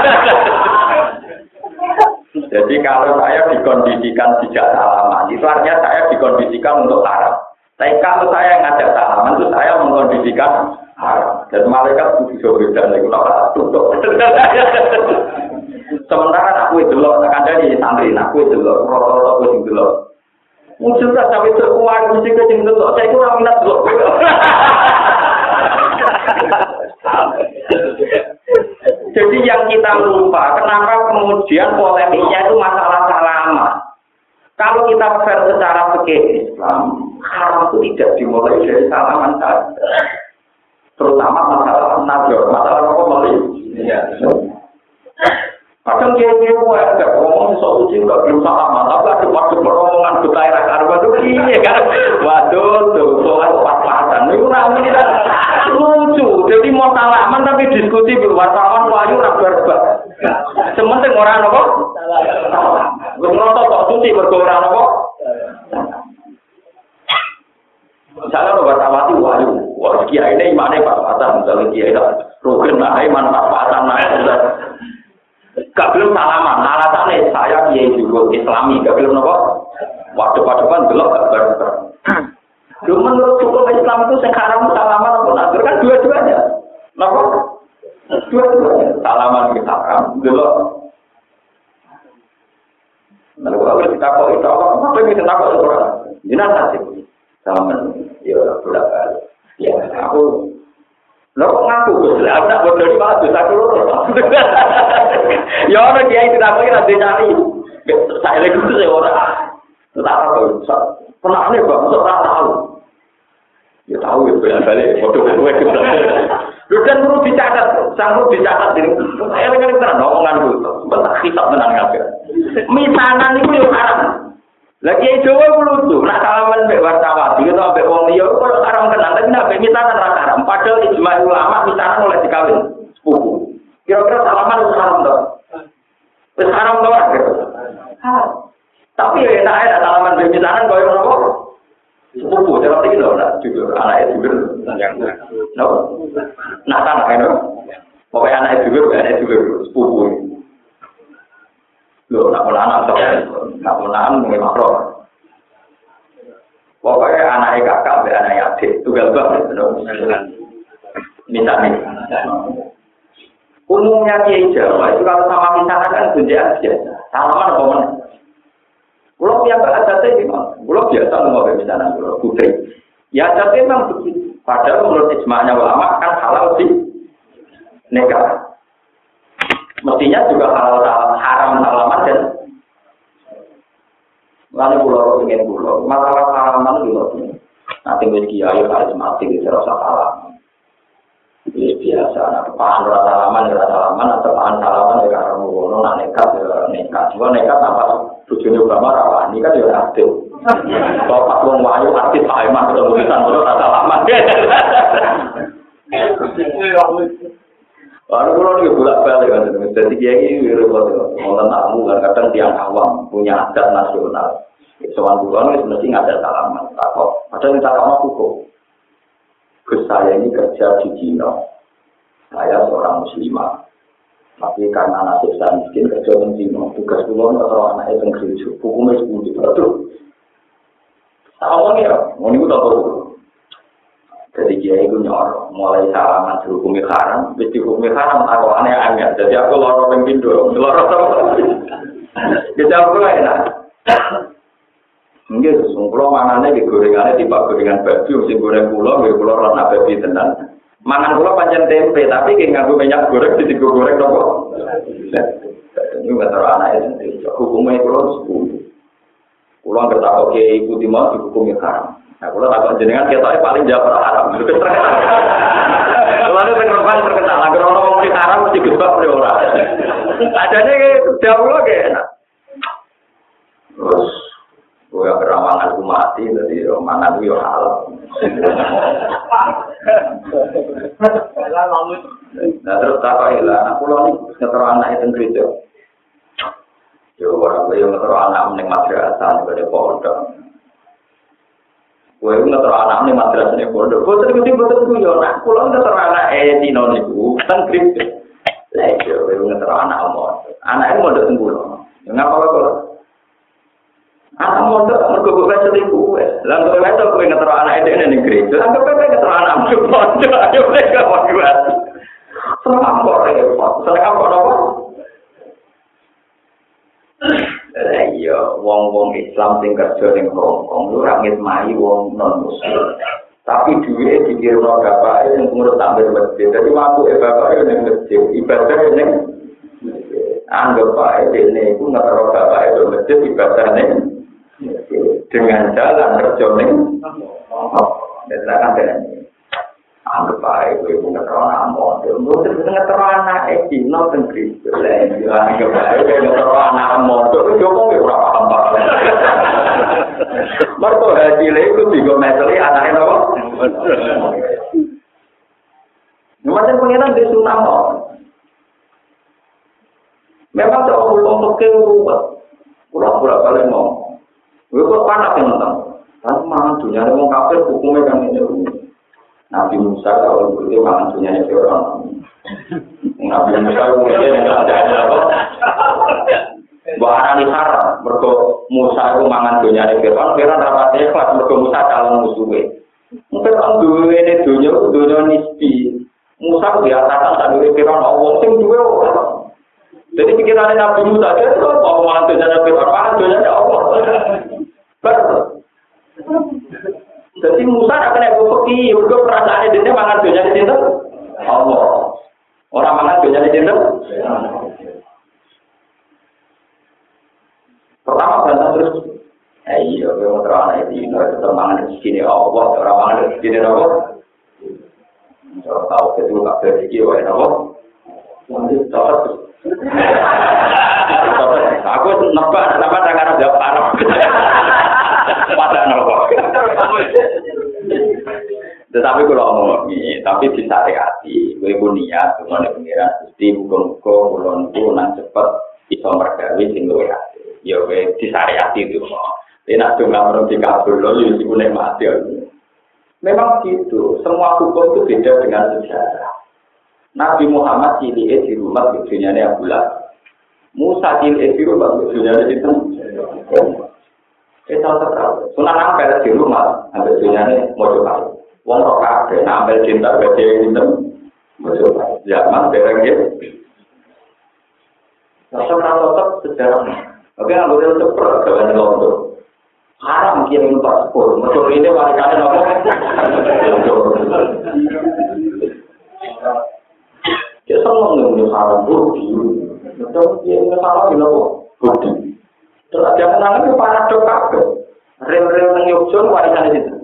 Jadi kalau saya dikondisikan tidak salaman, itu artinya saya dikondisikan untuk haram. Tapi kalau saya ngajak salaman, itu saya mengkondisikan haram. Dan malaikat kudu bisa beda. Itu tak tutup. Sementara aku itu loh, akan dari santri, aku itu loh, rata-rata aku itu loh. Mungkin tak sampai terkuat, mesti kecing itu loh, saya kurang minat loh. Jadi yang kita lupa, kenapa kemudian polemiknya itu masalah salaman. Kalau kita fair secara fikih Islam, haram itu tidak dimulai dari salaman saja. Terutama masalah nazar, masalah apa boleh? Kadang dia dia buat agak ngomong sesuatu sih nggak belum salaman, tapi ada waktu peromongan kita era karba tuh iya kan, waduh tuh soal pas-pasan, itu namanya kan lucu. Jadi mau salaman tapi diskusi berwartawan wayu rabar-rabar. Sementing orang apa? Bernotot tok suci berkorang apa? Misalnya lo bertawati wayu, wah kiai ini imannya pas-pasan, misalnya kiai itu rukun lah, iman pas-pasan lah. Gak belum salaman, alasannya saya kiai juga Islami, gak belum nopo. Waktu-waktu gelap gak berber. Cuma menurut hukum Islam itu sekarang salaman atau nazar kan dua-duanya, nopo. Dua-duanya salaman kita kan gelap. Lalu kalau kita kok itu apa? Apa yang kita kok itu orang? Jinak nasib salaman, ya berapa? Ya aku. Lo kok ngaku Gus? Lah tak bodoh di malah dosa kulo. Ya ora kiai tidak lagi nanti cari. Saya lagi itu saya ora. Tak tahu. Pernah nih Bang, ora tahu. Ya tahu ya balik bodoh kowe gitu. Lho kan perlu dicatat, sanggup dicatat ini. Saya kan tenan omongan kulo. Bentar kitab tenan kabeh. Misanan iku yo haram. Lagi Jawa ku lucu, nak salaman mbek wartawan, iki to mbek wong liya kok haram tenan, tapi nek misanan ra haram. Padahal ijma ulama misanan oleh dikawin sepupu. Kira-kira salaman itu haram to? Wis haram to ora? Haram. Tapi ya enak ada salaman mbek misanan koyo ngono. Sepupu, cara ini loh, nak juga anaknya juga, no, nak tanah itu, pokoknya anaknya juga, anaknya juga sepupu. Loh, nak pernah anak sok, nak pernah anak mungkin makro. Pokoknya anaknya kakak, anaknya adik, tunggal banget, no. Misalnya, umumnya kiai Jawa itu kalau sama misalnya kan gunjaan biasa, salaman apa mana? Kalau yang ada tadi memang, kalau biasa mau misalnya kalau putri, ya jadi memang begitu. Padahal menurut ijma'nya ulama kan halal sih nikah. Mestinya juga halal haram salaman dan lalu pulau ingin pulau masalah salaman dulu. Nanti bagi kiai harus mati di serasa salaman. Ini biasa, nah, pahan rasa salaman, rasa salaman, atau pahan salaman, ya karena mau nak nekat, ya nekat. Cuma nekat apa? Tujuannya Obama rawan, ini kan ya aktif. Kalau pas wong wayu aktif, Pak Iman ketemu di sana, rasa salaman. Lalu kalau ini bolak balik kan, jadi kiai ini repot, mau tamu kan kadang tiang awam punya adat nasional. Soal bulan itu mesti ada salaman, takut. Ada yang tak mau hukum. Saya ini kerja di Cina, saya seorang muslimah, tapi karena nasib saya miskin kerja di Cina, tugas pulau atau anak itu gereja, hukumnya sepuluh betul. Sama ya, mau nih tak tahu. Jadi dia itu nyor, mulai salaman dihukumi haram, jadi hukumi haram aku aneh-aneh. Jadi aku lorong pembindo, lorong apa? Jadi aku enak. Mungkin sungkulo mangannya di gorengannya tiba gorengan baju, mesti goreng pulau, goreng pulau rana babi tenan. Mangan pulau panjang tempe, tapi kayak nganggo minyak goreng, jadi goreng nopo. Ini nggak terlalu anaknya sendiri. Hukumnya pulau sepuluh. Pulau nggak tahu oke ibu timah dihukumi haram. Nah pulau takut jenengan kita paling jauh haram. Lalu pengertian terkenal, agar orang ngomong haram mesti gebak orang. Adanya kayak jauh loh kayak enak. Terus gue beramangan aku mati, jadi mangan itu halal. Nah terus tak kok hilang, aku loh nih ngeterok anak itu gereja. Yo orang gue yang ngeterok anak mening madrasah juga ada pondok. Gue ngeterok anak mening madrasah nih pondok. Gue terus tiba tiba gue yo nak, aku loh ngeterok anak eh Cina nih gue kan gereja. Lah yo gue ngeterok anak omor, anak itu mau datang pulau. Ngapa kalau anak mondok mergo kowe selingkuh wes. Lah kowe wes kowe ngetero anak itu ning gereja. Lah kowe ngetero anak mondok ayo mereka kuat. Seneng kok repot. Seneng kok apa? Lah iya, wong-wong Islam sing kerja ning Hongkong lu ora ngitmai wong non muslim. Tapi duwe dikirno bapak sing ngurus tampil masjid. Dadi waktu e bapak ning masjid, ibadah ning anggap bae dene iku ngetero bapak e masjid ibadah ning dengan jalan terjoning, dan akan dengan anggap baik, gue punya terang anak, gue punya terang anak, eh, Cina tenggri, anggap baik, gue punya terang anak, gue ngomong gue kurang paham pak. Mereka haji lagi, tiga meter anaknya apa? Macam pengiran di Sunnah, memang tak belum pakai uang, pura-pura kalian mau. Gue kok panas yang nonton, kan mangan dunia ada orang kafir hukumnya kan ini. Nabi Musa kalau begitu mangan dunia itu orang. Nabi Musa kemudian yang ada apa? Bahkan ini haram, mereka Musa itu mangan dunia itu orang. Kira rapatnya kelas mereka Musa calon musuhnya. Mungkin orang dua ini dunia dunia nisbi. Musa biasakan tak dulu kira orang sing dua orang. Jadi pikiran Nabi Musa itu kalau mangan dunia itu orang, mangan dunia itu Allah. Betul. Jadi Musa akan yang berpikir, juga perasaannya dia mangan dunia di situ. Allah. Orang mangan dunia di situ. Pertama bantah terus. Eh iya, kalau terang itu, itu mangan di sini Allah, orang mangan di sini Allah. Kalau tahu itu nggak berpikir, wah Allah. Mungkin tahu. Aku nebak, kenapa tangan jawab Arab. Pada nopo. Tetapi kalau ngomong ini, tapi disariati, gue pun niat, cuma ada pengiran, mesti buka-buka, kulon itu nang cepet bisa mergawi sing luwe hati. Ya gue disariati itu, Enak dong nggak perlu dikabul loh, jadi boleh mati. Memang gitu, semua hukum itu beda dengan sejarah. Nabi Muhammad cilik di rumah tujuannya Abu Lahab. Musa cilik di rumah tujuannya itu. Kita tahu, sunan ampel di rumah, ambil tujuannya mau coba. Wong roka, nah ambil cinta baca itu, mau coba. Zaman berang gitu. Tetap sejarah. Oke, nggak boleh tetap jalan londo. Haram kirim paspor, motor ini warisannya nopo. Dia senang dengan haram budi, betul dia salah di nopo budi. Terus ada kenangan itu para dokter, rel-rel yang Yogyakarta warisannya itu.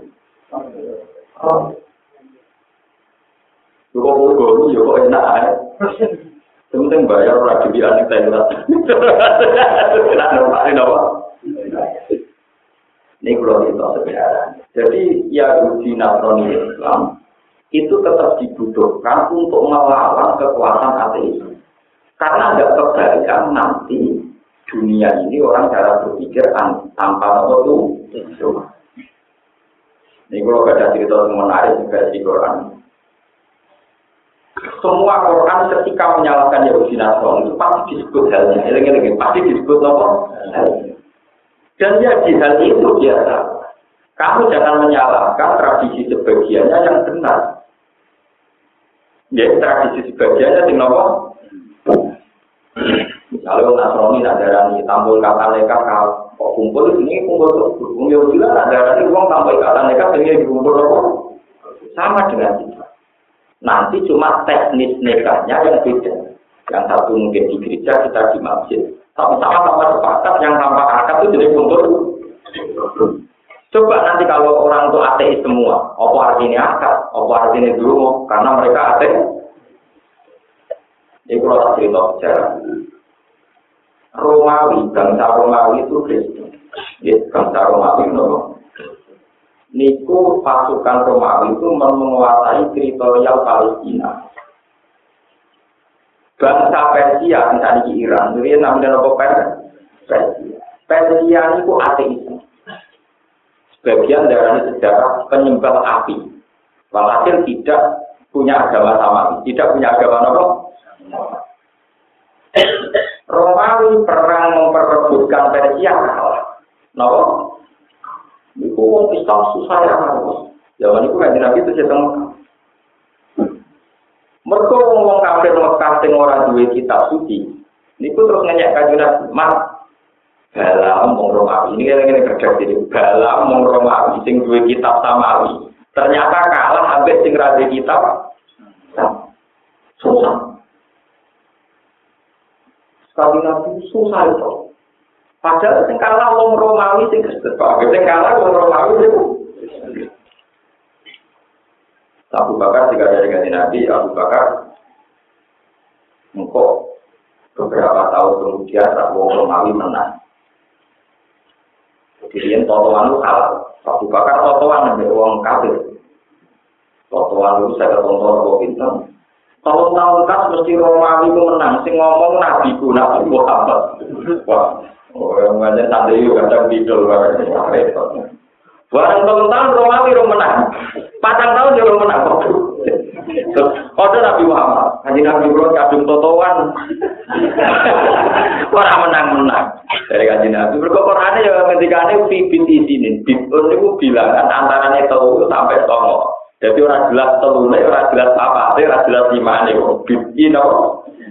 Juga guru, juga enak ya. Penting bayar orang di biar kita itu. Tidak ada nopo. Ini kalau kita sebenarnya. Jadi Yahudi Nasrani Islam itu tetap dibutuhkan untuk melawan kekuasaan ateisme. Karena ada kebalikan nanti dunia ini orang cara berpikir tanpa waktu. Ini kalau ada cerita yang menarik juga di Quran. Semua Quran ketika menyalahkan Yahudi Nasrani itu pasti disebut halnya. Ini pasti disebut apa? Dan ya di hal itu biasa. Kamu jangan menyalahkan tradisi sebagiannya yang benar. Ya, tradisi sebagiannya yang apa? Kalau Nasrani nadarani tampil kata mereka kok kumpul ini kumpul tuh. Kumpul juga nadarani uang tampil kata mereka ini kumpul apa? Sama dengan kita. Nanti cuma teknis nikahnya yang beda. Yang satu mungkin di gereja, kita di masjid. Sama-sama sepakat yang tanpa akad itu jadi kumpul. Coba nanti kalau orang itu ateis semua, apa artinya akad? Apa artinya dulu? Karena mereka ateis. Ini kalau tak cerita sejarah. Romawi, bangsa Romawi itu Kristen. Ya, bangsa Romawi itu. Niku pasukan Romawi itu menguasai teritorial Palestina. Bangsa Persia, misalnya di Iran, itu namanya apa Persia. Persia itu ateisme. Sebagian dari sejarah penyembah api. Walhasil tidak punya agama sama, tidak punya agama apa? Romawi perang memperebutkan Persia kalah. Napa? Itu orang Islam susah ya. Zaman itu kan Nabi itu sedang mereka ngomong kafir Mekah sing ora duwe kitab suci. Niku terus ngenyek kanjeng Nabi, "Mas, balam wong Romawi ini kene kerja diri. Balam wong Romawi sing duwe kitab samawi. Ternyata kalah ambek sing ra duwe kitab." Susah. Sekali Nabi susah itu. Padahal sing kalah wong Romawi sing Kristen. Sing kalah wong Romawi itu Abu Bakar jika dari ganti Nabi, Abu Bakar engkau beberapa tahun kemudian Rabu Romawi menang. Kemudian totoan itu kalah. Abu Bakar totoan dengan uang kafir. Totoan itu saya tonton Abu Bintang. Tahun-tahun kan mesti Romawi itu menang. Sing ngomong Nabi ku Nabi Muhammad. Wah, orang ngajar tadi juga kadang bidol banget. Barang tahun-tahun Romawi itu menang. Patang tahun dia menang. Kode Nabi Muhammad, Haji Nabi Muhammad kadung totoan. Orang menang-menang dari Haji Nabi. Berkorannya ya ketika ini bibit di sini, bibit itu bilangan antaranya tahu sampai songo. Jadi orang jelas telurnya, orang jelas apa, orang jelas lima ini. Bibit ini apa?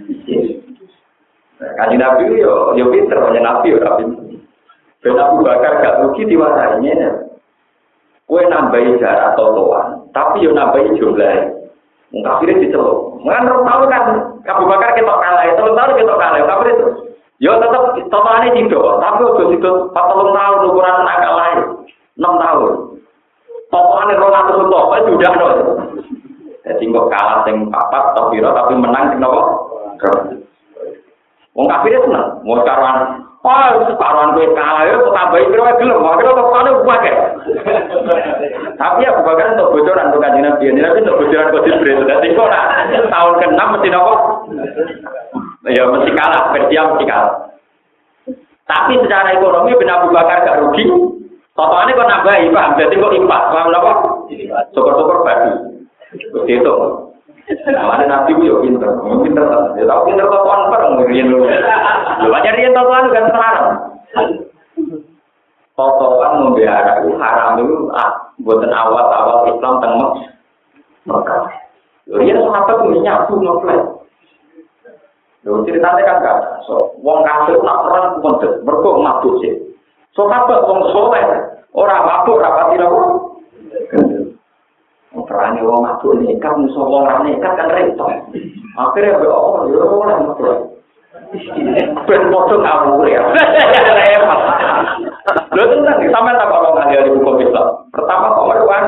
Haji Nabi yo yo pinter, hanya Nabi yo Nabi. Ben Abu Bakar gak rugi diwasainya. Kue nambahi jarak totoan, tapi yo nambahi jumlah. Kafirnya diceluk. Mengan tahu kan, Abu Bakar ketok kalah, telung tahun ketok kalah, kafir itu. Yo tetap totoannya tidak, tapi udah tidak empat telung tahun ukuran nakal lain, enam tahun. Totoannya rong atus untuk, itu sudah no. Jadi kok kalah sing papat, tapi tapi menang sing nopo. Wong kafirnya seneng, mau karuan. Oh, separuhan gue kalah ya, tambahin kira gelem, makanya tokoannya bukan. Tapi ya bukan untuk bocoran untuk kajian Nabi, Nabi untuk bocoran kode beres. Jadi kok nak tahun keenam mesti nopo, ya mesti kalah, Persia mesti kalah. Tapi secara ekonomi Ben Abu Bakar gak rugi, Totoane kok nambahi, paham? Dadi kok impas, paham napa? Syukur-syukur babi. Wis itu. Namanya Nabi ku yo pinter, pinter. Ya tau pinter totoan bareng riyen lho. Lho pancen riyen totoan kan haram. Totoan membela itu haram itu ah mboten awal-awal Islam teng Mekah. Lho riyen sahabat ku nyabu ngeflash. Lho ceritane kan gak so wong kafir nak perang kondet, mergo mabuk sih. Sahabat wong saleh ora mabuk ora pati lho. Perane wong mabuk nekat musuh wong ra nekat kan repot. Akhire kok yo ora mabuk. Ben foto ngawur ya. Repot. Lho tenan sampeyan tak kok ngajari buku Islam. Pertama kok merwan.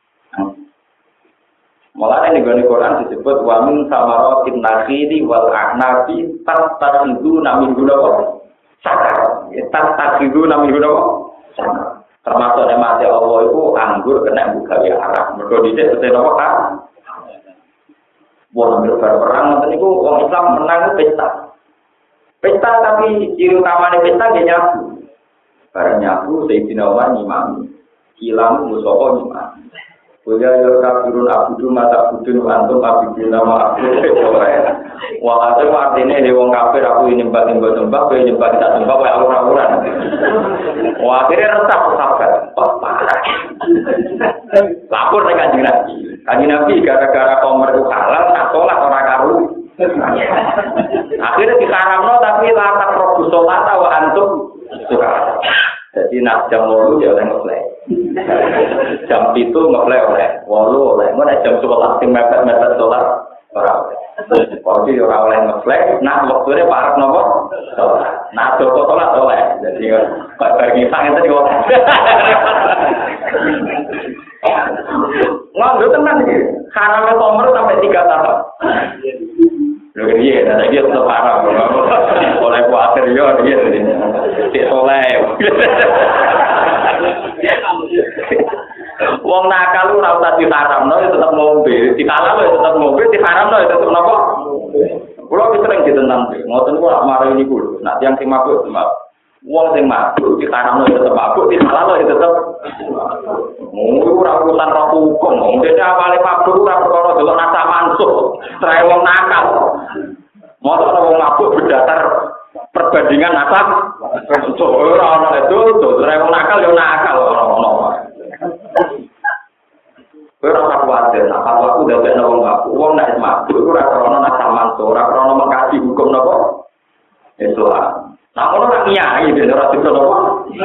Mulane ning gone Quran disebut wa min samaratin nakhili wal a'nabi tattakhidhu namin guna sakar. Tattakhidhu namin guna sakar. Termasuk nikmate Allah itu anggur kena buka ya arah. Mergo dhisik tete napa kan? Wong ambil perang ngoten niku wong Islam menang pesta. Pesta tapi ciri utamane pesta nggih nyabu. Bareng nyabu Sayyidina Umar ngimami. Kilam musopo ngimami. Kuya yo kafirun abudu mata budun antum abidun nama aku. Wah, itu artinya he wong kafir aku nyembah nyembah nyembah, kowe nyembah tak nyembah kowe ora-ora. Wah, akhirnya resah sahabat. Wah, parah. Lapor ning Kanjeng Nabi. Kanjeng Nabi gara-gara komer itu halal, nak salat ora karu. Akhirnya diharamno tapi latak robu salat wa antum suka. Jadi nak jam dulu dia oleh ngeplay. Jam itu ngeplay oleh, walu oleh. Mana jam sebelas tim mepet-mepet dolar orang. Kalau dia orang oleh ngeplay, nah waktunya parah nomor. Nah joko dolar oleh. Jadi bagi sang itu juga. Nggak tenang sih. Haramnya komer sampai tiga tahun. Lho iya, nah dia tetap haram. Oleh kuatir yo dia. Tidak soleh. Wong nakal ora usah diharamno tetep ngombe, dikalal tetep ngombe, diharamno tetep napa? Kulo wis sering ditentang, ngoten kok mari niku lho. Nek tiyang sing mabuk, wong sing mabuk diharamno tetep mabuk, dikalal tetep. Mung ora urusan roh hukum, dene awale mabuk ora perkara delok nasa mansuh, trae wong nakal. Motor wong mabuk berdasar perbandingan nasab ora ana itu trae wong nakal yo nakal ora ono. Ora tak kuwatir, nek aku dadekno wong mabuk, wong nek mabuk ora krana nasab mansuh, ora krana mengkaji hukum napa? Islam. Nah, ono nak nyai ben ora bisa napa?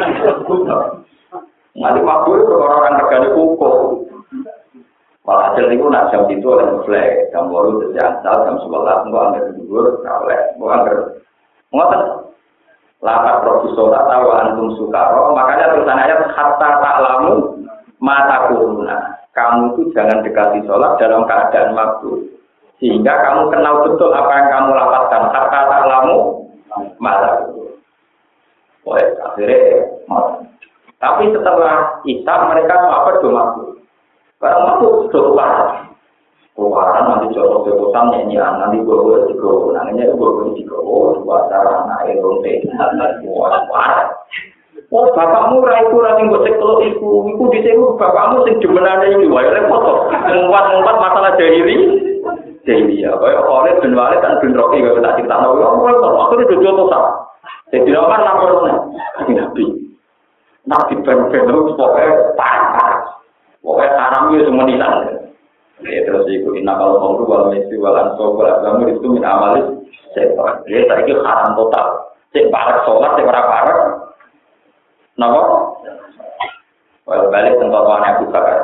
Nanti mabuk itu orang-orang regane hukum. Malah hasil itu nak jam itu oleh flag, jam baru sejak jam sebelas nggak angker tidur, nggak oleh, nggak angker. Ngotot, latar profesor atau antum sukaro, makanya tulisan ayat hatta ta'lamu mata kuruna. Kamu itu jangan dekati sholat dalam keadaan mabuk, sehingga kamu kenal betul apa yang kamu lapatkan. Hatta ta'lamu mata kuruna. Boleh akhirnya, tapi setelah Islam mereka apa do mabuk. Barang mabuk sudah parah. Keluaran nanti jodoh jodohan nyanyian nanti gue juga nanya gue juga dua cara naik ronde wah parah. Oh bapakmu raiku rati gue sekolah iku iku di sini bapakmu sing jemenane iki wae repot. Ngumpat-ngumpat masalah jahili. Jahili ya. Kayak oleh ben wale kan ben roki gak tak cerita no. Aku itu jodoh sah. Jadi orang lapornya Nabi. Nabi ben-ben pokoknya parah. Pokoknya haramnya semua nisan. Ya terus ikut inakal khamru wal maisir wal ansab wal azlam itu min amalis setan. Ya saiki haram total. Sing parek salat sing ora parek. Napa? Wal balik tentoane Abu Bakar.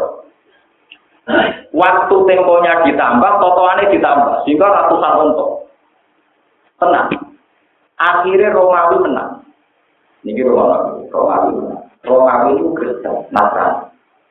Waktu temponya ditambah, totoane ditambah sehingga ratusan unta. Tenang. Akhirnya Romawi menang. Niki Romawi, Romawi menang. Romawi itu Kristen, Nasrani.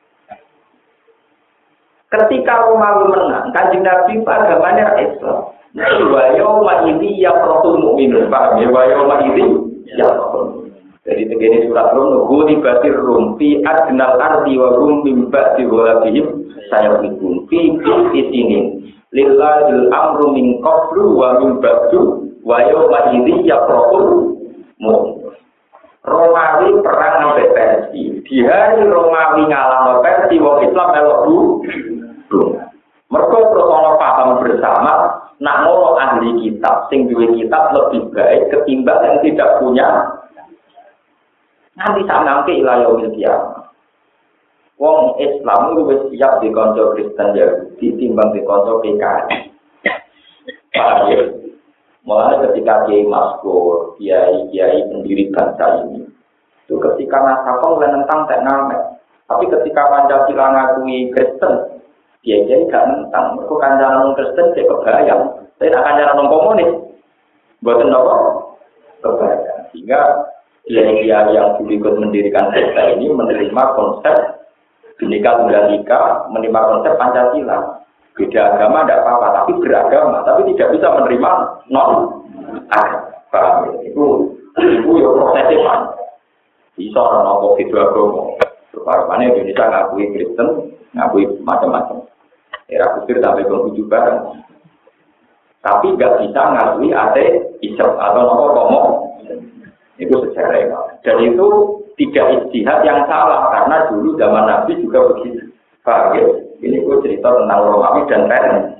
Ketika Romawi menang, Kanjeng Nabi agamanya Islam. Wa yauma idzi yafrahul mu'minun. Paham ya? Wa yauma idzi yafrahul. Jadi tegene surat Rum nggoni batir rum fi adnal ardi wa rum min ba'di ghalabihim sayabun fi isinin. Lillahil amru min qablu wa min ba'du wa yauma idzi yafrahul mu'minun. Romawi perang sampai Persia. Di hari Romawi ngalahno Persia, wong Islam melok bu. Mereka terus ana paham bersama, nak ngono ahli kitab, sing duwe kitab lebih baik ketimbang yang tidak punya. Nanti sak nangke ila yaumil qiyamah. Wong Islam wis siap dikonco Kristen Yahudi timbang dikonco P K I. Paham ya? Mulai ketika Kiai Maskur, Kiai Kiai pendiri bangsa ini, itu ketika nasabah mulai nentang tak ngamet. Tapi ketika Pancasila ngakui Kristen, Kiai Kiai gak nentang. Mereka kancaran Kristen saya kebayang. Saya tak kancaran komunis, buatan apa? Kebayang. Sehingga Kiai Kiai yang ikut mendirikan bangsa ini menerima konsep Bhinneka Tunggal Ika, menerima konsep Pancasila. Beda agama tidak apa-apa, tapi beragama, tapi tidak bisa menerima non agama. Itu itu ya prosesnya man. Bisa orang nopo itu agama. Separuhnya Indonesia ngakui Kristen, ngakui macam-macam. Era kusir sampai ke bareng. Tapi nggak bisa ngakui ateisme atau nopo komo. Itu sejarah. Dan itu tidak ijtihad yang salah karena dulu zaman Nabi juga begitu. Paham ya? Ini gue cerita tentang Romawi dan Persia.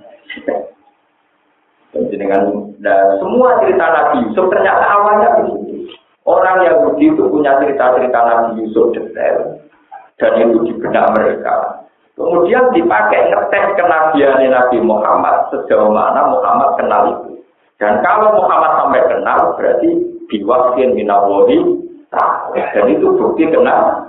Dengan dan semua cerita Nabi Yusuf ternyata awalnya begitu. Orang Yahudi itu punya cerita-cerita Nabi Yusuf detail dan itu di benak mereka. Kemudian dipakai ngetes kenabian Nabi Muhammad sejauh mana Muhammad kenal itu. Dan kalau Muhammad sampai kenal berarti biwaskin minawoli. Dan itu bukti kenal.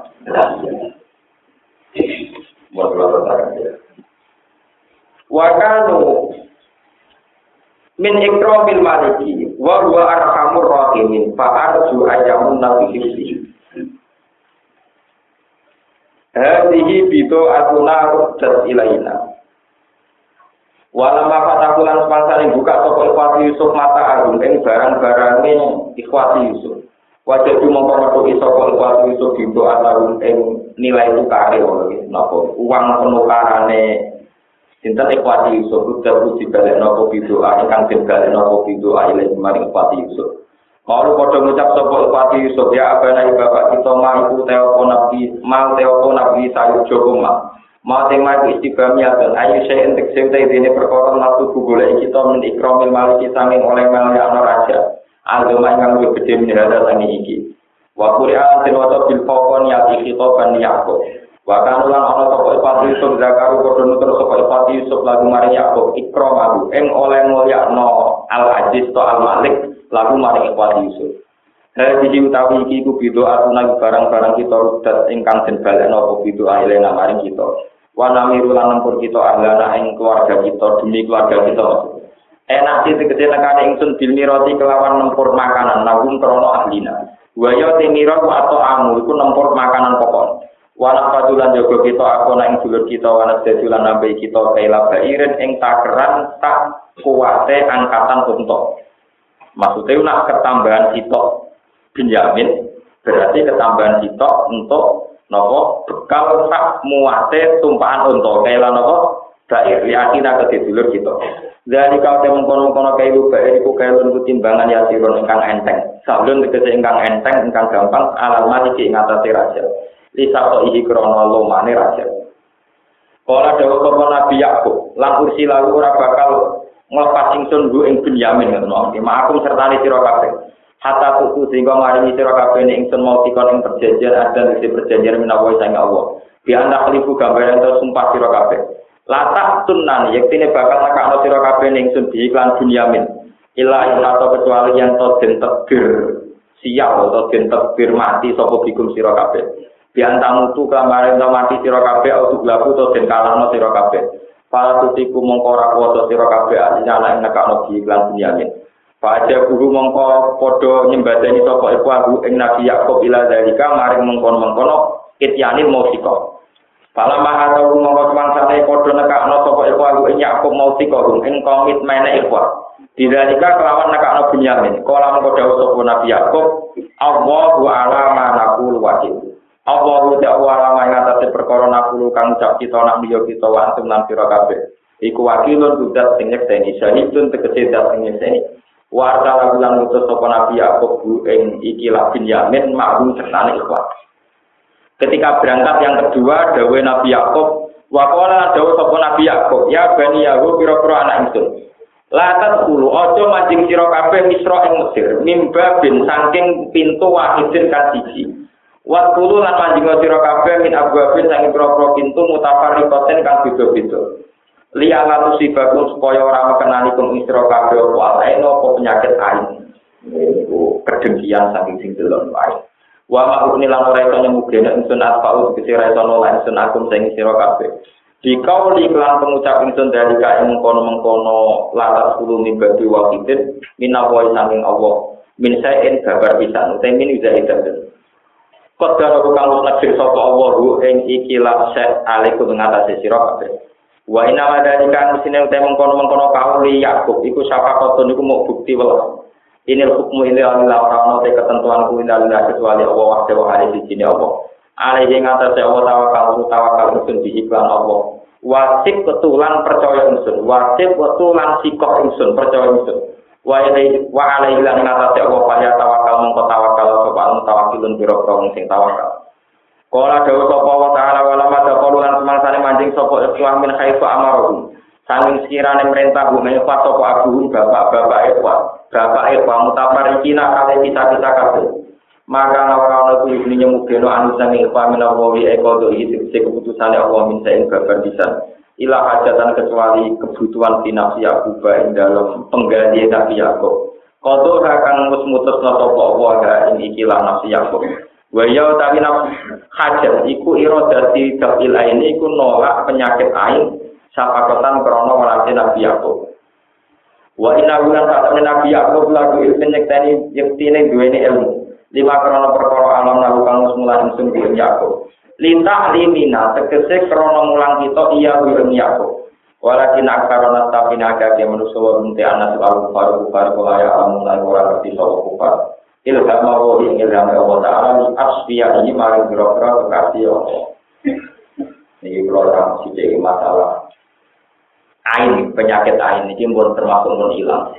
Wakanu min ikramil maliki wa huwa arhamur rahimin fa arju ayamun nabiyyi hadhihi bitu atuna ruddat ilaina walama fatakulan sepangsane buka toko ikhwati Yusuf mata agung ing barang-barange ikhwati Yusuf wajah cuma kalau itu sokol kuat itu gitu atau yang nilai tukar itu nopo uang penukarannya cinta ekuati Yusuf sudah uji balik nopo video akan balik nopo video aile kemarin ekuati Yusuf kalau pada mengucap sokol ekuati Yusuf ya apa nih bapak kita mau telepon nabi mau telepon nabi sayur jogoma mau tema istiqamnya dan ayo saya untuk saya ini perkara nafsu boleh kita mendikromil malu kita oleh malu anak raja agama yang lebih gede menjadi tani iki. Waktu yang terwata bil fokon yati khitoban Yakub. Wakan ulang ono toko ipati Yusuf zakaru kodon terus toko ipati Yusuf lagu mari Yakub ikrom aku. Eng oleh mulyakno al aziz to al malik lagu mari ipati Yusuf. Hadi utawi iki ku bido atuna barang-barang kita rudat ingkang den balekno apa bido ailena mari kita. Wa namiru lan nempur kita ahlana ing keluarga kita demi keluarga kita. Enak sih tegese nekane ingsun bil mirati kelawan nempur makanan nagum krono ahlina. Wa ya timira atau amu iku nempur makanan pokok. Wala padulan jaga kita aku nang dulur kita wana sedulan nambe kita kaila bairin ing takeran tak kuwate angkatan untuk. Maksudnya nak ketambahan sitok Benyamin berarti ketambahan sitok untuk nopo bekal sak muate tumpahan untuk kaila nopo bair yakin ke dulur kita. Dari kau temen kono-kono kailu bae iku kailu niku timbangan ya siron ingkang enteng. Sablon tegese ingkang enteng ingkang gampang alamat iki ing atase raja. Lisa to iki krana lomane raja. Ora dawuh sapa Nabi Yakub, lan kursi lalu ora bakal nglepas ingsun nggo ing Benyamin ngono. Makum sertane sira kabeh. Hatta tuku sehingga maringi sira kabeh ing ingsun mau dikon ing perjanjian adan isi perjanjian menawa sang Allah. Bi anda khalifu gambaran to sumpah sira kabeh. Latak tunan yektine bakal nakakno sira kabeh ning sun diiklan Bunyamin ila ing atau kecuali yang to den tebir sial atau den tebir mati sapa bikum sira kabeh biantamu tu kamare to mati sira kabeh atau glabu to den kalahno sira kabeh para tutiku mongko ora kuwasa sira kabeh nyala ing nakakno diiklan Bunyamin Paja guru mongko padha nyembadani sapa iku aku ing Nabi Yakub ila dalika maring mengkon-mengkono ityanin musika Pala maha tau mongko semangsane padha nekakno sapa iku aku ing Yakub mau sika ing komitmene iku. Didalika kelawan nekakno Bunyamin. Kala mongko dawuh sapa Nabi Yakub, Allahu a'lamu naqul wakil. Allahu ta'ala ma ngatasi perkara nakulu kang ucap kita nak liya kita wa antum lan sira kabeh. Iku wakilun kudat sing nyekseni, syahidun tegese dat sing nyekseni. Wa ta'ala lan ngutus sapa Nabi Yakub ing ikilah bin Yamin ma'hum sertane ikhwan. Ketika berangkat yang kedua dawuh Nabi Yakub, wa qala dawuh sapa Nabi Yakub, ya bani Yakub pira-pira anak ingsun. Latat kulu ojo mancing sira kabeh Misra ing Mesir, mimba bin saking pintu wahidin kan siji. Wa kulu lan mancing sira kabeh min abwabin saking pira-pira pintu mutafarriqatin kang beda-beda. Liya lan sibakum supaya ora mekenani kum isra kabeh apa alae apa penyakit ain. Niku kedengkian saking sing delon wae. Wa ma'runi lan ora iso nyemugene ingsun asfa'u kese ora iso nolak ingsun akum sing sira kabeh. Dikau li kelan pengucap ingsun dari ka ing mengkono-mengkono latas kulo mibadi waqidin minawa saking Allah. Min saen babar pisan utawi min zaidan. Qadara kang nekir sapa Allah ing ikilah set alaikum ngatasi sira kabeh. Wa inna madalika musine uta mengkono-mengkono kauli Yakub iku syafaqatun iku mau bukti welas. Inil hukmu ila Allah ora ono te ketentuan ku ila Allah kecuali Allah wa ta'ala di sini Allah. Ale ing atase Allah tawakal tawakal ingsun di iklan Allah. Wasib ketulan percaya ingsun, wasib ketulan sikok ingsun percaya ingsun. Wa ilai wa alaihi lan atase Allah kaya tawakal mongko tawakal sapa mutawakilun pira-pira wong sing tawakal. Kala dawuh sapa wa ta'ala wala mata qalulan semangsane manjing sapa ikhwan min khaifa amaruhum. Saking sekirane perintah bumi fa sapa abuhum bapak-bapak ikhwan. Bapak ikhwan mutafarikina kale kita-kita kabeh. Maka ora ana kuwi nyemugeno anu sange ikhwan menawi eko do iki keputusane Allah minta ing babar pisan. Ila hajatan kecuali kebutuhan finansi Yakub ing dalam pengganti Nabi Yakub. Kodo akan mutus-mutus sapa Allah ing ikilah nafsi Yakub. Wa ya utawi nafsu hajat iku iradati dafil ain iku nolak penyakit ain sapakotan krana walase Nabi Yakub. Wa inna ulan fatane Nabi Yakub lagu penyekteni yektine duweni ilmu. Lima krana perkara alam lalu kang semula ingsun ing Yakub. Linta limina tegese krana mulang kita iya ing Yakub. Walakin akarana tapi naga ke manusa wa munti anas al faru faru kaya amun lan ora ngerti sapa kufar. Ilham Allah ing ilham Allah Ta'ala ni asfiya ini maring biro-biro kekasih Allah. Ini program sithik masalah ain, penyakit ain ini pun termasuk pun hilang.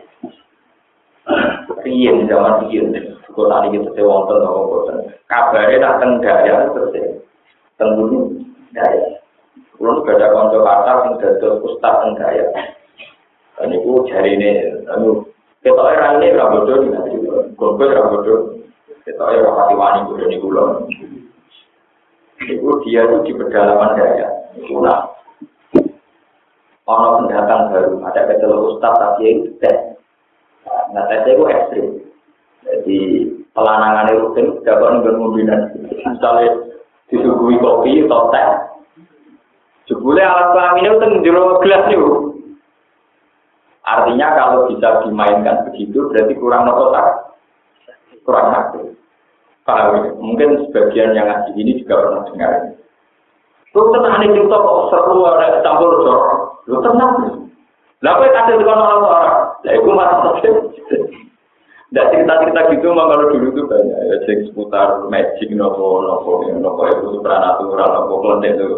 Riyen zaman riyen kok tadi kita wonten apa boten. Kabare dateng daya terus teng gunung daya. Kulo gak ada kanca kata sing dados ustaz teng daya. Niku jarine anu ketoke raine ra bodho dinasti gogo ra bodho. Ketoke ora pati wani bodho niku lho. Niku dia itu di pedalaman daya. Niku lah. Ono pendatang baru, ada kecelok ustaz tapi itu tes. Nah, tesnya itu ekstrim. Jadi pelanangan itu kan dapat nunggu mobilan. Misalnya disuguhi kopi atau teh. Jebule alat kelamin itu menjuru gelas itu. Artinya kalau bisa dimainkan begitu berarti kurang nokotak, kurang aktif. Paham? Mungkin sebagian yang ngaji ini juga pernah dengar. Lu tenang nih kita kok seru ada campur jorok. Lu tenang. Lah kowe kasih tekan orang-orang. Lah iku masalah. Ndak cerita-cerita gitu mah kalau dulu tuh banyak ya sing seputar magic nopo nopo nopo itu supranatural nopo klente itu.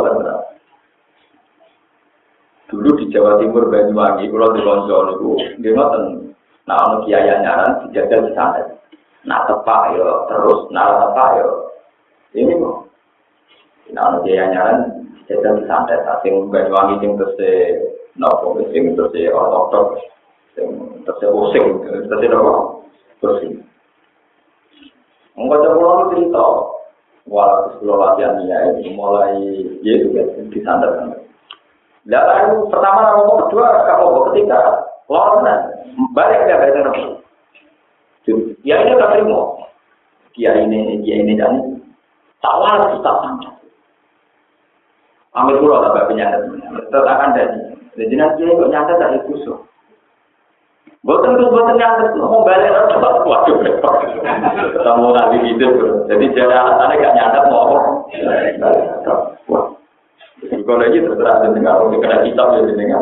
Dulu di Jawa Timur Banyuwangi kalau di Konco niku nggih ngoten. Nah ono kiai nyaran dijajal di sana. Nah tepak yo terus nah tepak yo. Ini kok. Nah ono kiai nyaran dijajal di sana sing Banyuwangi sing terus nopo sing terus ortodok sing terus using terus nopo terus. Engko coba cerita wala sekolah latihan ini mulai yaitu di sana kan. Lalu pertama nomor kedua kamu ketika lorna balik dia balik nomor. Ya ini tak terima. Dia ini dia ini dan tawar kita sangat. Ambil pulau tak penyakit. Tetakan dari jadi nanti kok nyata tak ikut. Bukan itu bukan nyata mau balik orang waduh repot. Kamu nanti hidup. Jadi jadi alasannya gak nyata mau apa. Kalau lagi terserah dengar, kalau kena kitab ya dengar.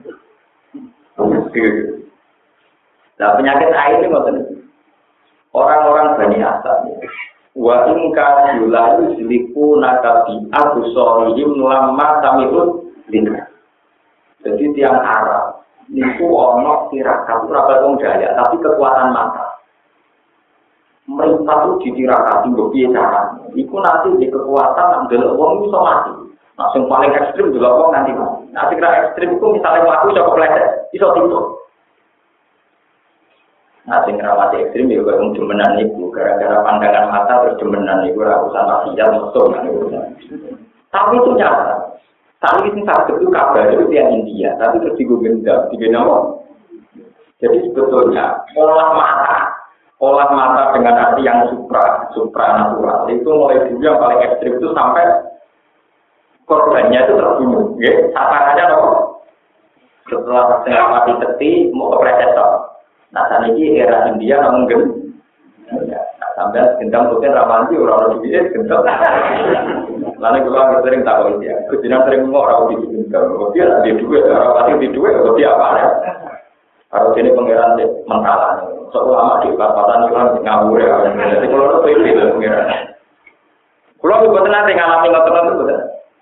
Nah penyakit air ini maksudnya orang-orang Bani Asad. Wa ingka yulayu siliku nakabi abu sorihim lama tamikun lina. Jadi tiang Arab niku ono tirakat ora wong Dayak tapi kekuatan mata. Mereka tuh ditirakati mbok piye carane. Iku nanti di kekuatan ndelok wong iso mati. Nah, yang paling ekstrim juga wong nanti mati. Nah, kira ekstrim itu misalnya mlaku iso kepleset, iso tidur. Nah, sing rawati ekstrim ya kaya wong demenan iku, gara-gara pandangan mata terus demenan iku ora usah maksiat mesum. Tapi itu nyata. Saat ini satu itu kabar itu yang India, tapi terus digendam, digendam. Jadi sebetulnya olah mata, olah mata dengan arti yang supra, supranatural itu mulai dulu yang paling ekstrim itu sampai korbannya itu terbunuh. Ya, sasarannya apa? Setelah setengah mati teti mau ke predator. Nah saat ini era India namun gen, nah, sampai gendam mungkin ramanti orang-orang juga gendam. Lalu kita sering tahu dia, kita sering ngomong orang di gendam, dia ada duit, orang pasti di duit, dia apa ya? Harus ini pengiran mentalan, seulama di perapatan hilang ngawur ya. Jadi kalau itu itu pengiran. Kalau kita nanti ngalami ngotot itu betul.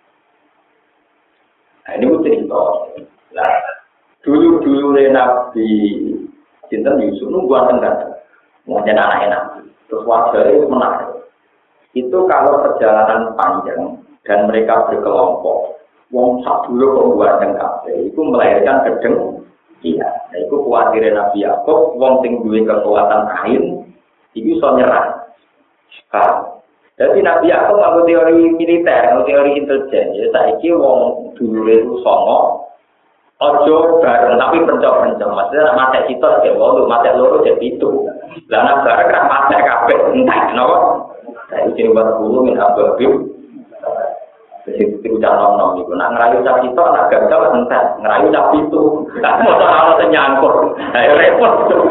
Nah ini pun cerita. Nah dulu-dulu Nabi Sinten Yusuf nungguan tenggat, mungkin anak-anak. Terus wajar itu menarik. Itu kalau perjalanan panjang dan mereka berkelompok, wong sak dulu pembuat tenggat, itu melahirkan gedeng. Iya, nah, itu kuatir Nabi Yakub, wong sing duwe kekuatan kain, itu iso nyerah. Sekarang, jadi Nabi Yakub nganggo teori militer, nganggo teori intelijen. Ya saiki wong dulu itu songo, ojo bareng tapi pencok-pencok. Maksudnya mate sitok ya wong, mate loro jadi itu. Lah nek bareng kan mate kabeh entah napa. Saya iki buat guru min ababim. Jadi itu jangan nom itu. Nak ngerayu cap itu, nak gagal entah. Ngerayu cap itu. Tapi mau soal ternyangkut. Saya repot.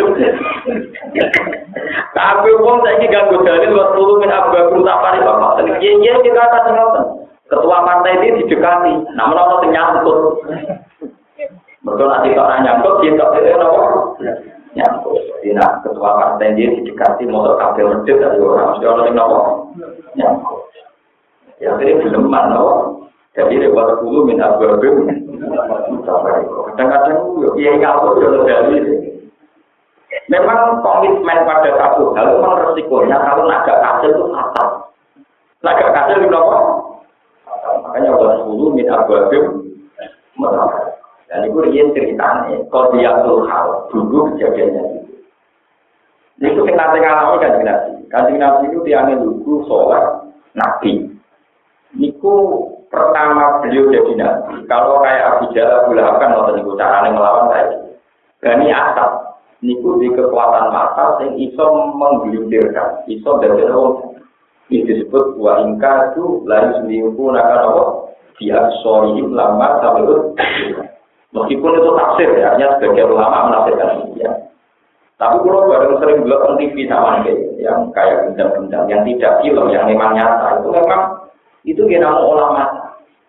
Tapi uang saya ini ganggu dalil buat guru min ababim tak pari bapak. Iya kita atas ngoten. Ketua partai ini didekati. Namun orang ternyangkut. Betul nanti tak nyangkut, dia tak boleh apa? Nyangkut. Jadi nak ketua partai dia didekati motor kabel medit dari orang. Mesti orang yang apa? Nyangkut. Ya ini belum mana, jadi lewat dulu minta berbeda. Kadang-kadang ya kalau jodoh dari memang komitmen pada satu hal memang resikonya kalau naga kasil itu fatal. Naga kasil itu apa? Makanya lewat dulu minta berbeda. Dan itu dia ceritanya. Kalau dia tuh hal dulu kejadiannya itu. Itu kita tengah-tengah kanjeng Nabi. Kanjeng Nabi itu tiangnya lugu sholat Nabi. Niku pertama beliau jadi nabi. Kalau kayak Abu Jahal Abu Lahab kan waktu niku caranya melawan saya. Bani Asad niku di kekuatan mata yang iso menggelintirkan, iso dari orang. Ini disebut wa ingka itu lalu seminggu nakal apa? Dia sorry lama sampai itu. Meskipun itu tafsir ya, hanya sebagian ulama menafsirkan ini ya. Tapi kalau bareng sering bilang T V sama nih, yang kayak benda-benda, yang tidak film, yang memang nyata itu memang itu kira mau olah mata.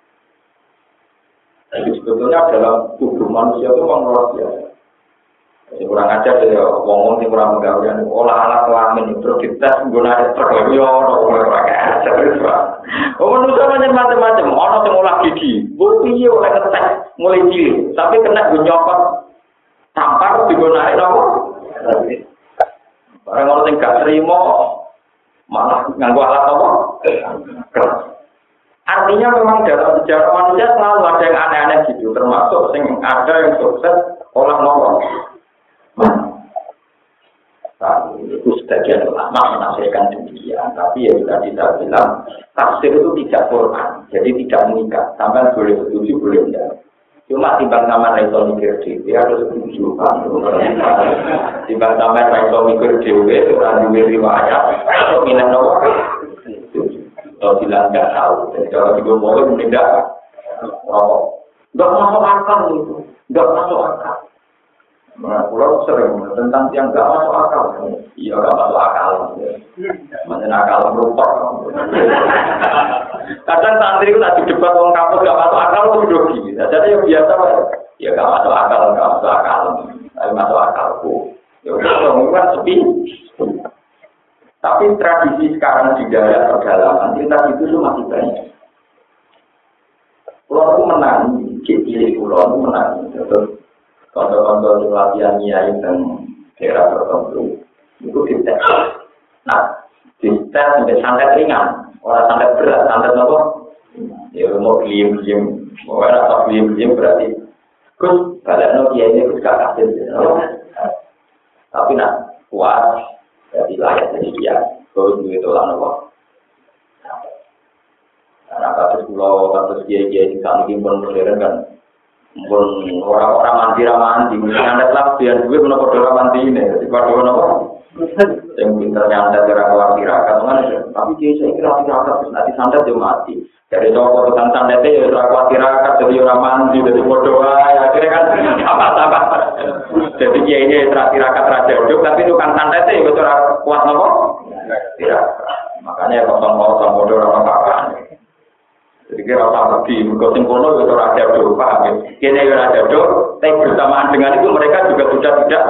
Jadi sebetulnya dalam tubuh manusia itu memang luar biasa. Jadi kurang ajar ya, ngomong sih kurang menggawean. Olah alat kelamin itu kita menggunakan terkeliru, orang kurang ajar itu. Oh manusia macam-macam, orang yang olah gigi, bukti oleh ngetek mulai cilik, tapi kena gunyokot tampar digunakan apa? Barang orang yang gak terima, malah nganggu alat apa? Keras. Artinya memang dalam sejarah manusia selalu ada yang aneh-aneh gitu, termasuk yang ada yang sukses olah nolong. Nah, itu sebagian ulama menafsirkan demikian, tapi ya sudah tidak bilang tafsir itu tidak Quran, jadi tidak mengikat. Sampai boleh setuju, boleh tidak. Cuma timbang sama Raiso mikir dewe harus setuju kan. Timbang sama Raiso mikir dewe orang duwe riwayat atau minat nomor. Kalau bilang nggak tahu, jadi kalau juga boleh tidak, oh, nggak masuk akal itu, nggak masuk akal. Nah, pulau sering tentang yang nggak masuk akal, iya nggak masuk akal, macam akal berupa. Kadang santri itu tadi debat orang kampus nggak masuk akal itu grogi, jadi yang biasa, ya nggak masuk akal, nggak masuk akal, tapi masuk akalku, ya udah ngomongin sepi. Tapi tradisi sekarang di daerah pedalaman, kita itu tuh masih banyak. Pulau itu menang, cilik pulau itu menang. Contoh-contoh di latihan nyai dan daerah tertentu itu dites. Nah, dites sampai santet ringan, orang santet berat, santet apa? Ya mau diem-diem, mau rasa diem-diem berarti. Terus balik no kiai ini gak kasih, tapi nak kuat, jadi layak jadi dia. Terus begitu lah nopo. Nah, kasus pulau, kasus kiai-kiai di sana pun modern kan. Pun orang-orang mandi ramandi, nyandet lah biar duit menopor doa mandi ini, jadi pada nopo. Yang pinter nyandet kira keluar tirakat, tapi kiai saya kira tirakat nanti santet dia mati. Dari toko tentang sandetnya ya ora tirakat jadi orang mandi, jadi berdoa, akhirnya kan apa-apa. Jadi kiai ini tirakat raja hidup, tapi tukang sandetnya itu ora kuat nopo. Tirakat. Makanya kosong-kosong bodoh orang apa-apa. Jadi kira apa di mukosim kono itu raja do paham ya. Kene ya raja do, tapi bersamaan dengan itu mereka juga sudah tidak.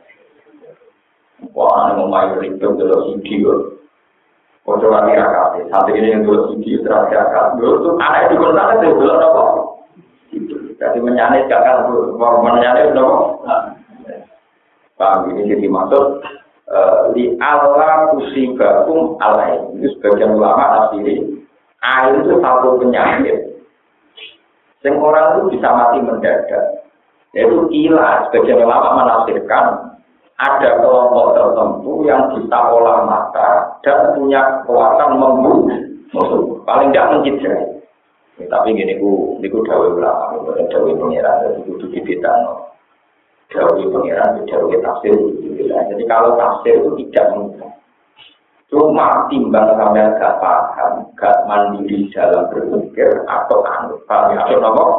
Wah, ini mau main ribet dalam video. Foto lagi rakyat, saat ini yang dulu video terakhir dulu tuh anak itu kan ada tuh dulu apa? Jadi menyanyi kakak tuh, mau menyanyi dong. Paham ini jadi maksud di Allah kusibakum alai. Itu sebagian ulama asli. Air itu satu penyakit. Yang orang itu bisa mati mendadak. Yaitu ilah. Sebagian ulama menafsirkan ada kelompok tertentu yang bisa olah mata dan punya kekuatan membunuh musuh. Paling tidak mencederai. Ya, tapi gini ku, ini ku dawai ulama, bukan dawai pengiran, jadi kudu dibedano. Dawai pengiran, dawai tafsir kudu dibedano. Jadi kalau tafsir itu tidak mudah. Cuma timbang sampai gak paham, gak mandiri dalam berpikir atau anut, paham ya? Atau apa?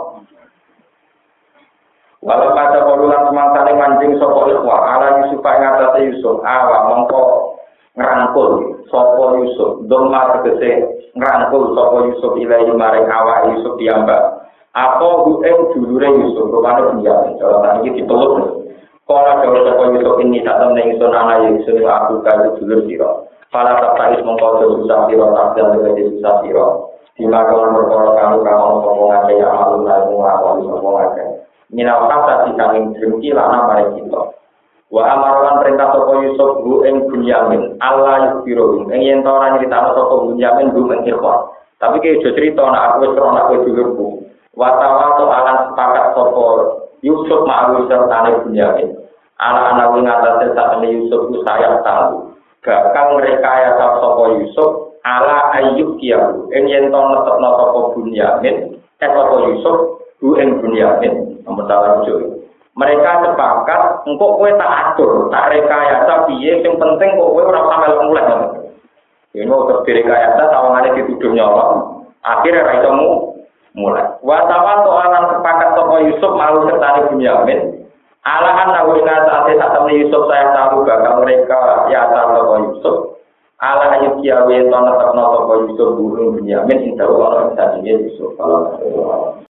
Walau pada polulan semangsa ini mancing sopo ikhwah, ala Yusuf yang atasnya Yusuf, awa mongko ngerangkul sopo Yusuf, doma tegese ngerangkul sopo Yusuf ilahi maring awa Yusuf diambak. Apa hu'eng dulure Yusuf, rumahnya penjamin, jalan ini dipeluk. Kalau jauh sopo Yusuf ini tak temen Yusuf anak Yusuf aku kayu dulur siro. Para terkait mengkode susah siro, takdir menjadi susah siro. Dimakan berkorok kamu kamu sopo ngake yang malu lalu ngakoni sopo ngake. Minal kata di kami dengki lana pada kita. Wa amaran perintah sopo Yusuf bu eng Bunyamin. Allah yusbirohum. Eng yen orang cerita sopo Bunyamin bu eng ikhwan. Tapi kayak jauh cerita nak aku seron aku dulurku. Watawa to alan sepakat sopo Yusuf ma'awi sertane Bunyamin. Anak-anak wingatasnya saat ini Yusuf ku sayang tahu. Bakal mereka ya sopo Yusuf ala ayyub kiyahu. Eng yen ton netepno sopo Bunyamin. Eh sopo Yusuf bu eng Bunyamin. Nomor salah ujung. Mereka sepakat, engkau kue tak atur, tak rekayasa piye, yang penting kok kue orang sampai mulai. Ini mau terdiri rekayasa, tawangannya dituduh nyolong, akhirnya raisamu mulai. Watawan soalan sepakat toko Yusuf malu sertani Bunyamin. Alahan nawina saatnya saat temen Yusuf saya tahu bakal mereka ya asal toko Yusuf. Ala ayub kiawe tono toko Yusuf burung Bunyamin, indah Allah yang tadinya Yusuf.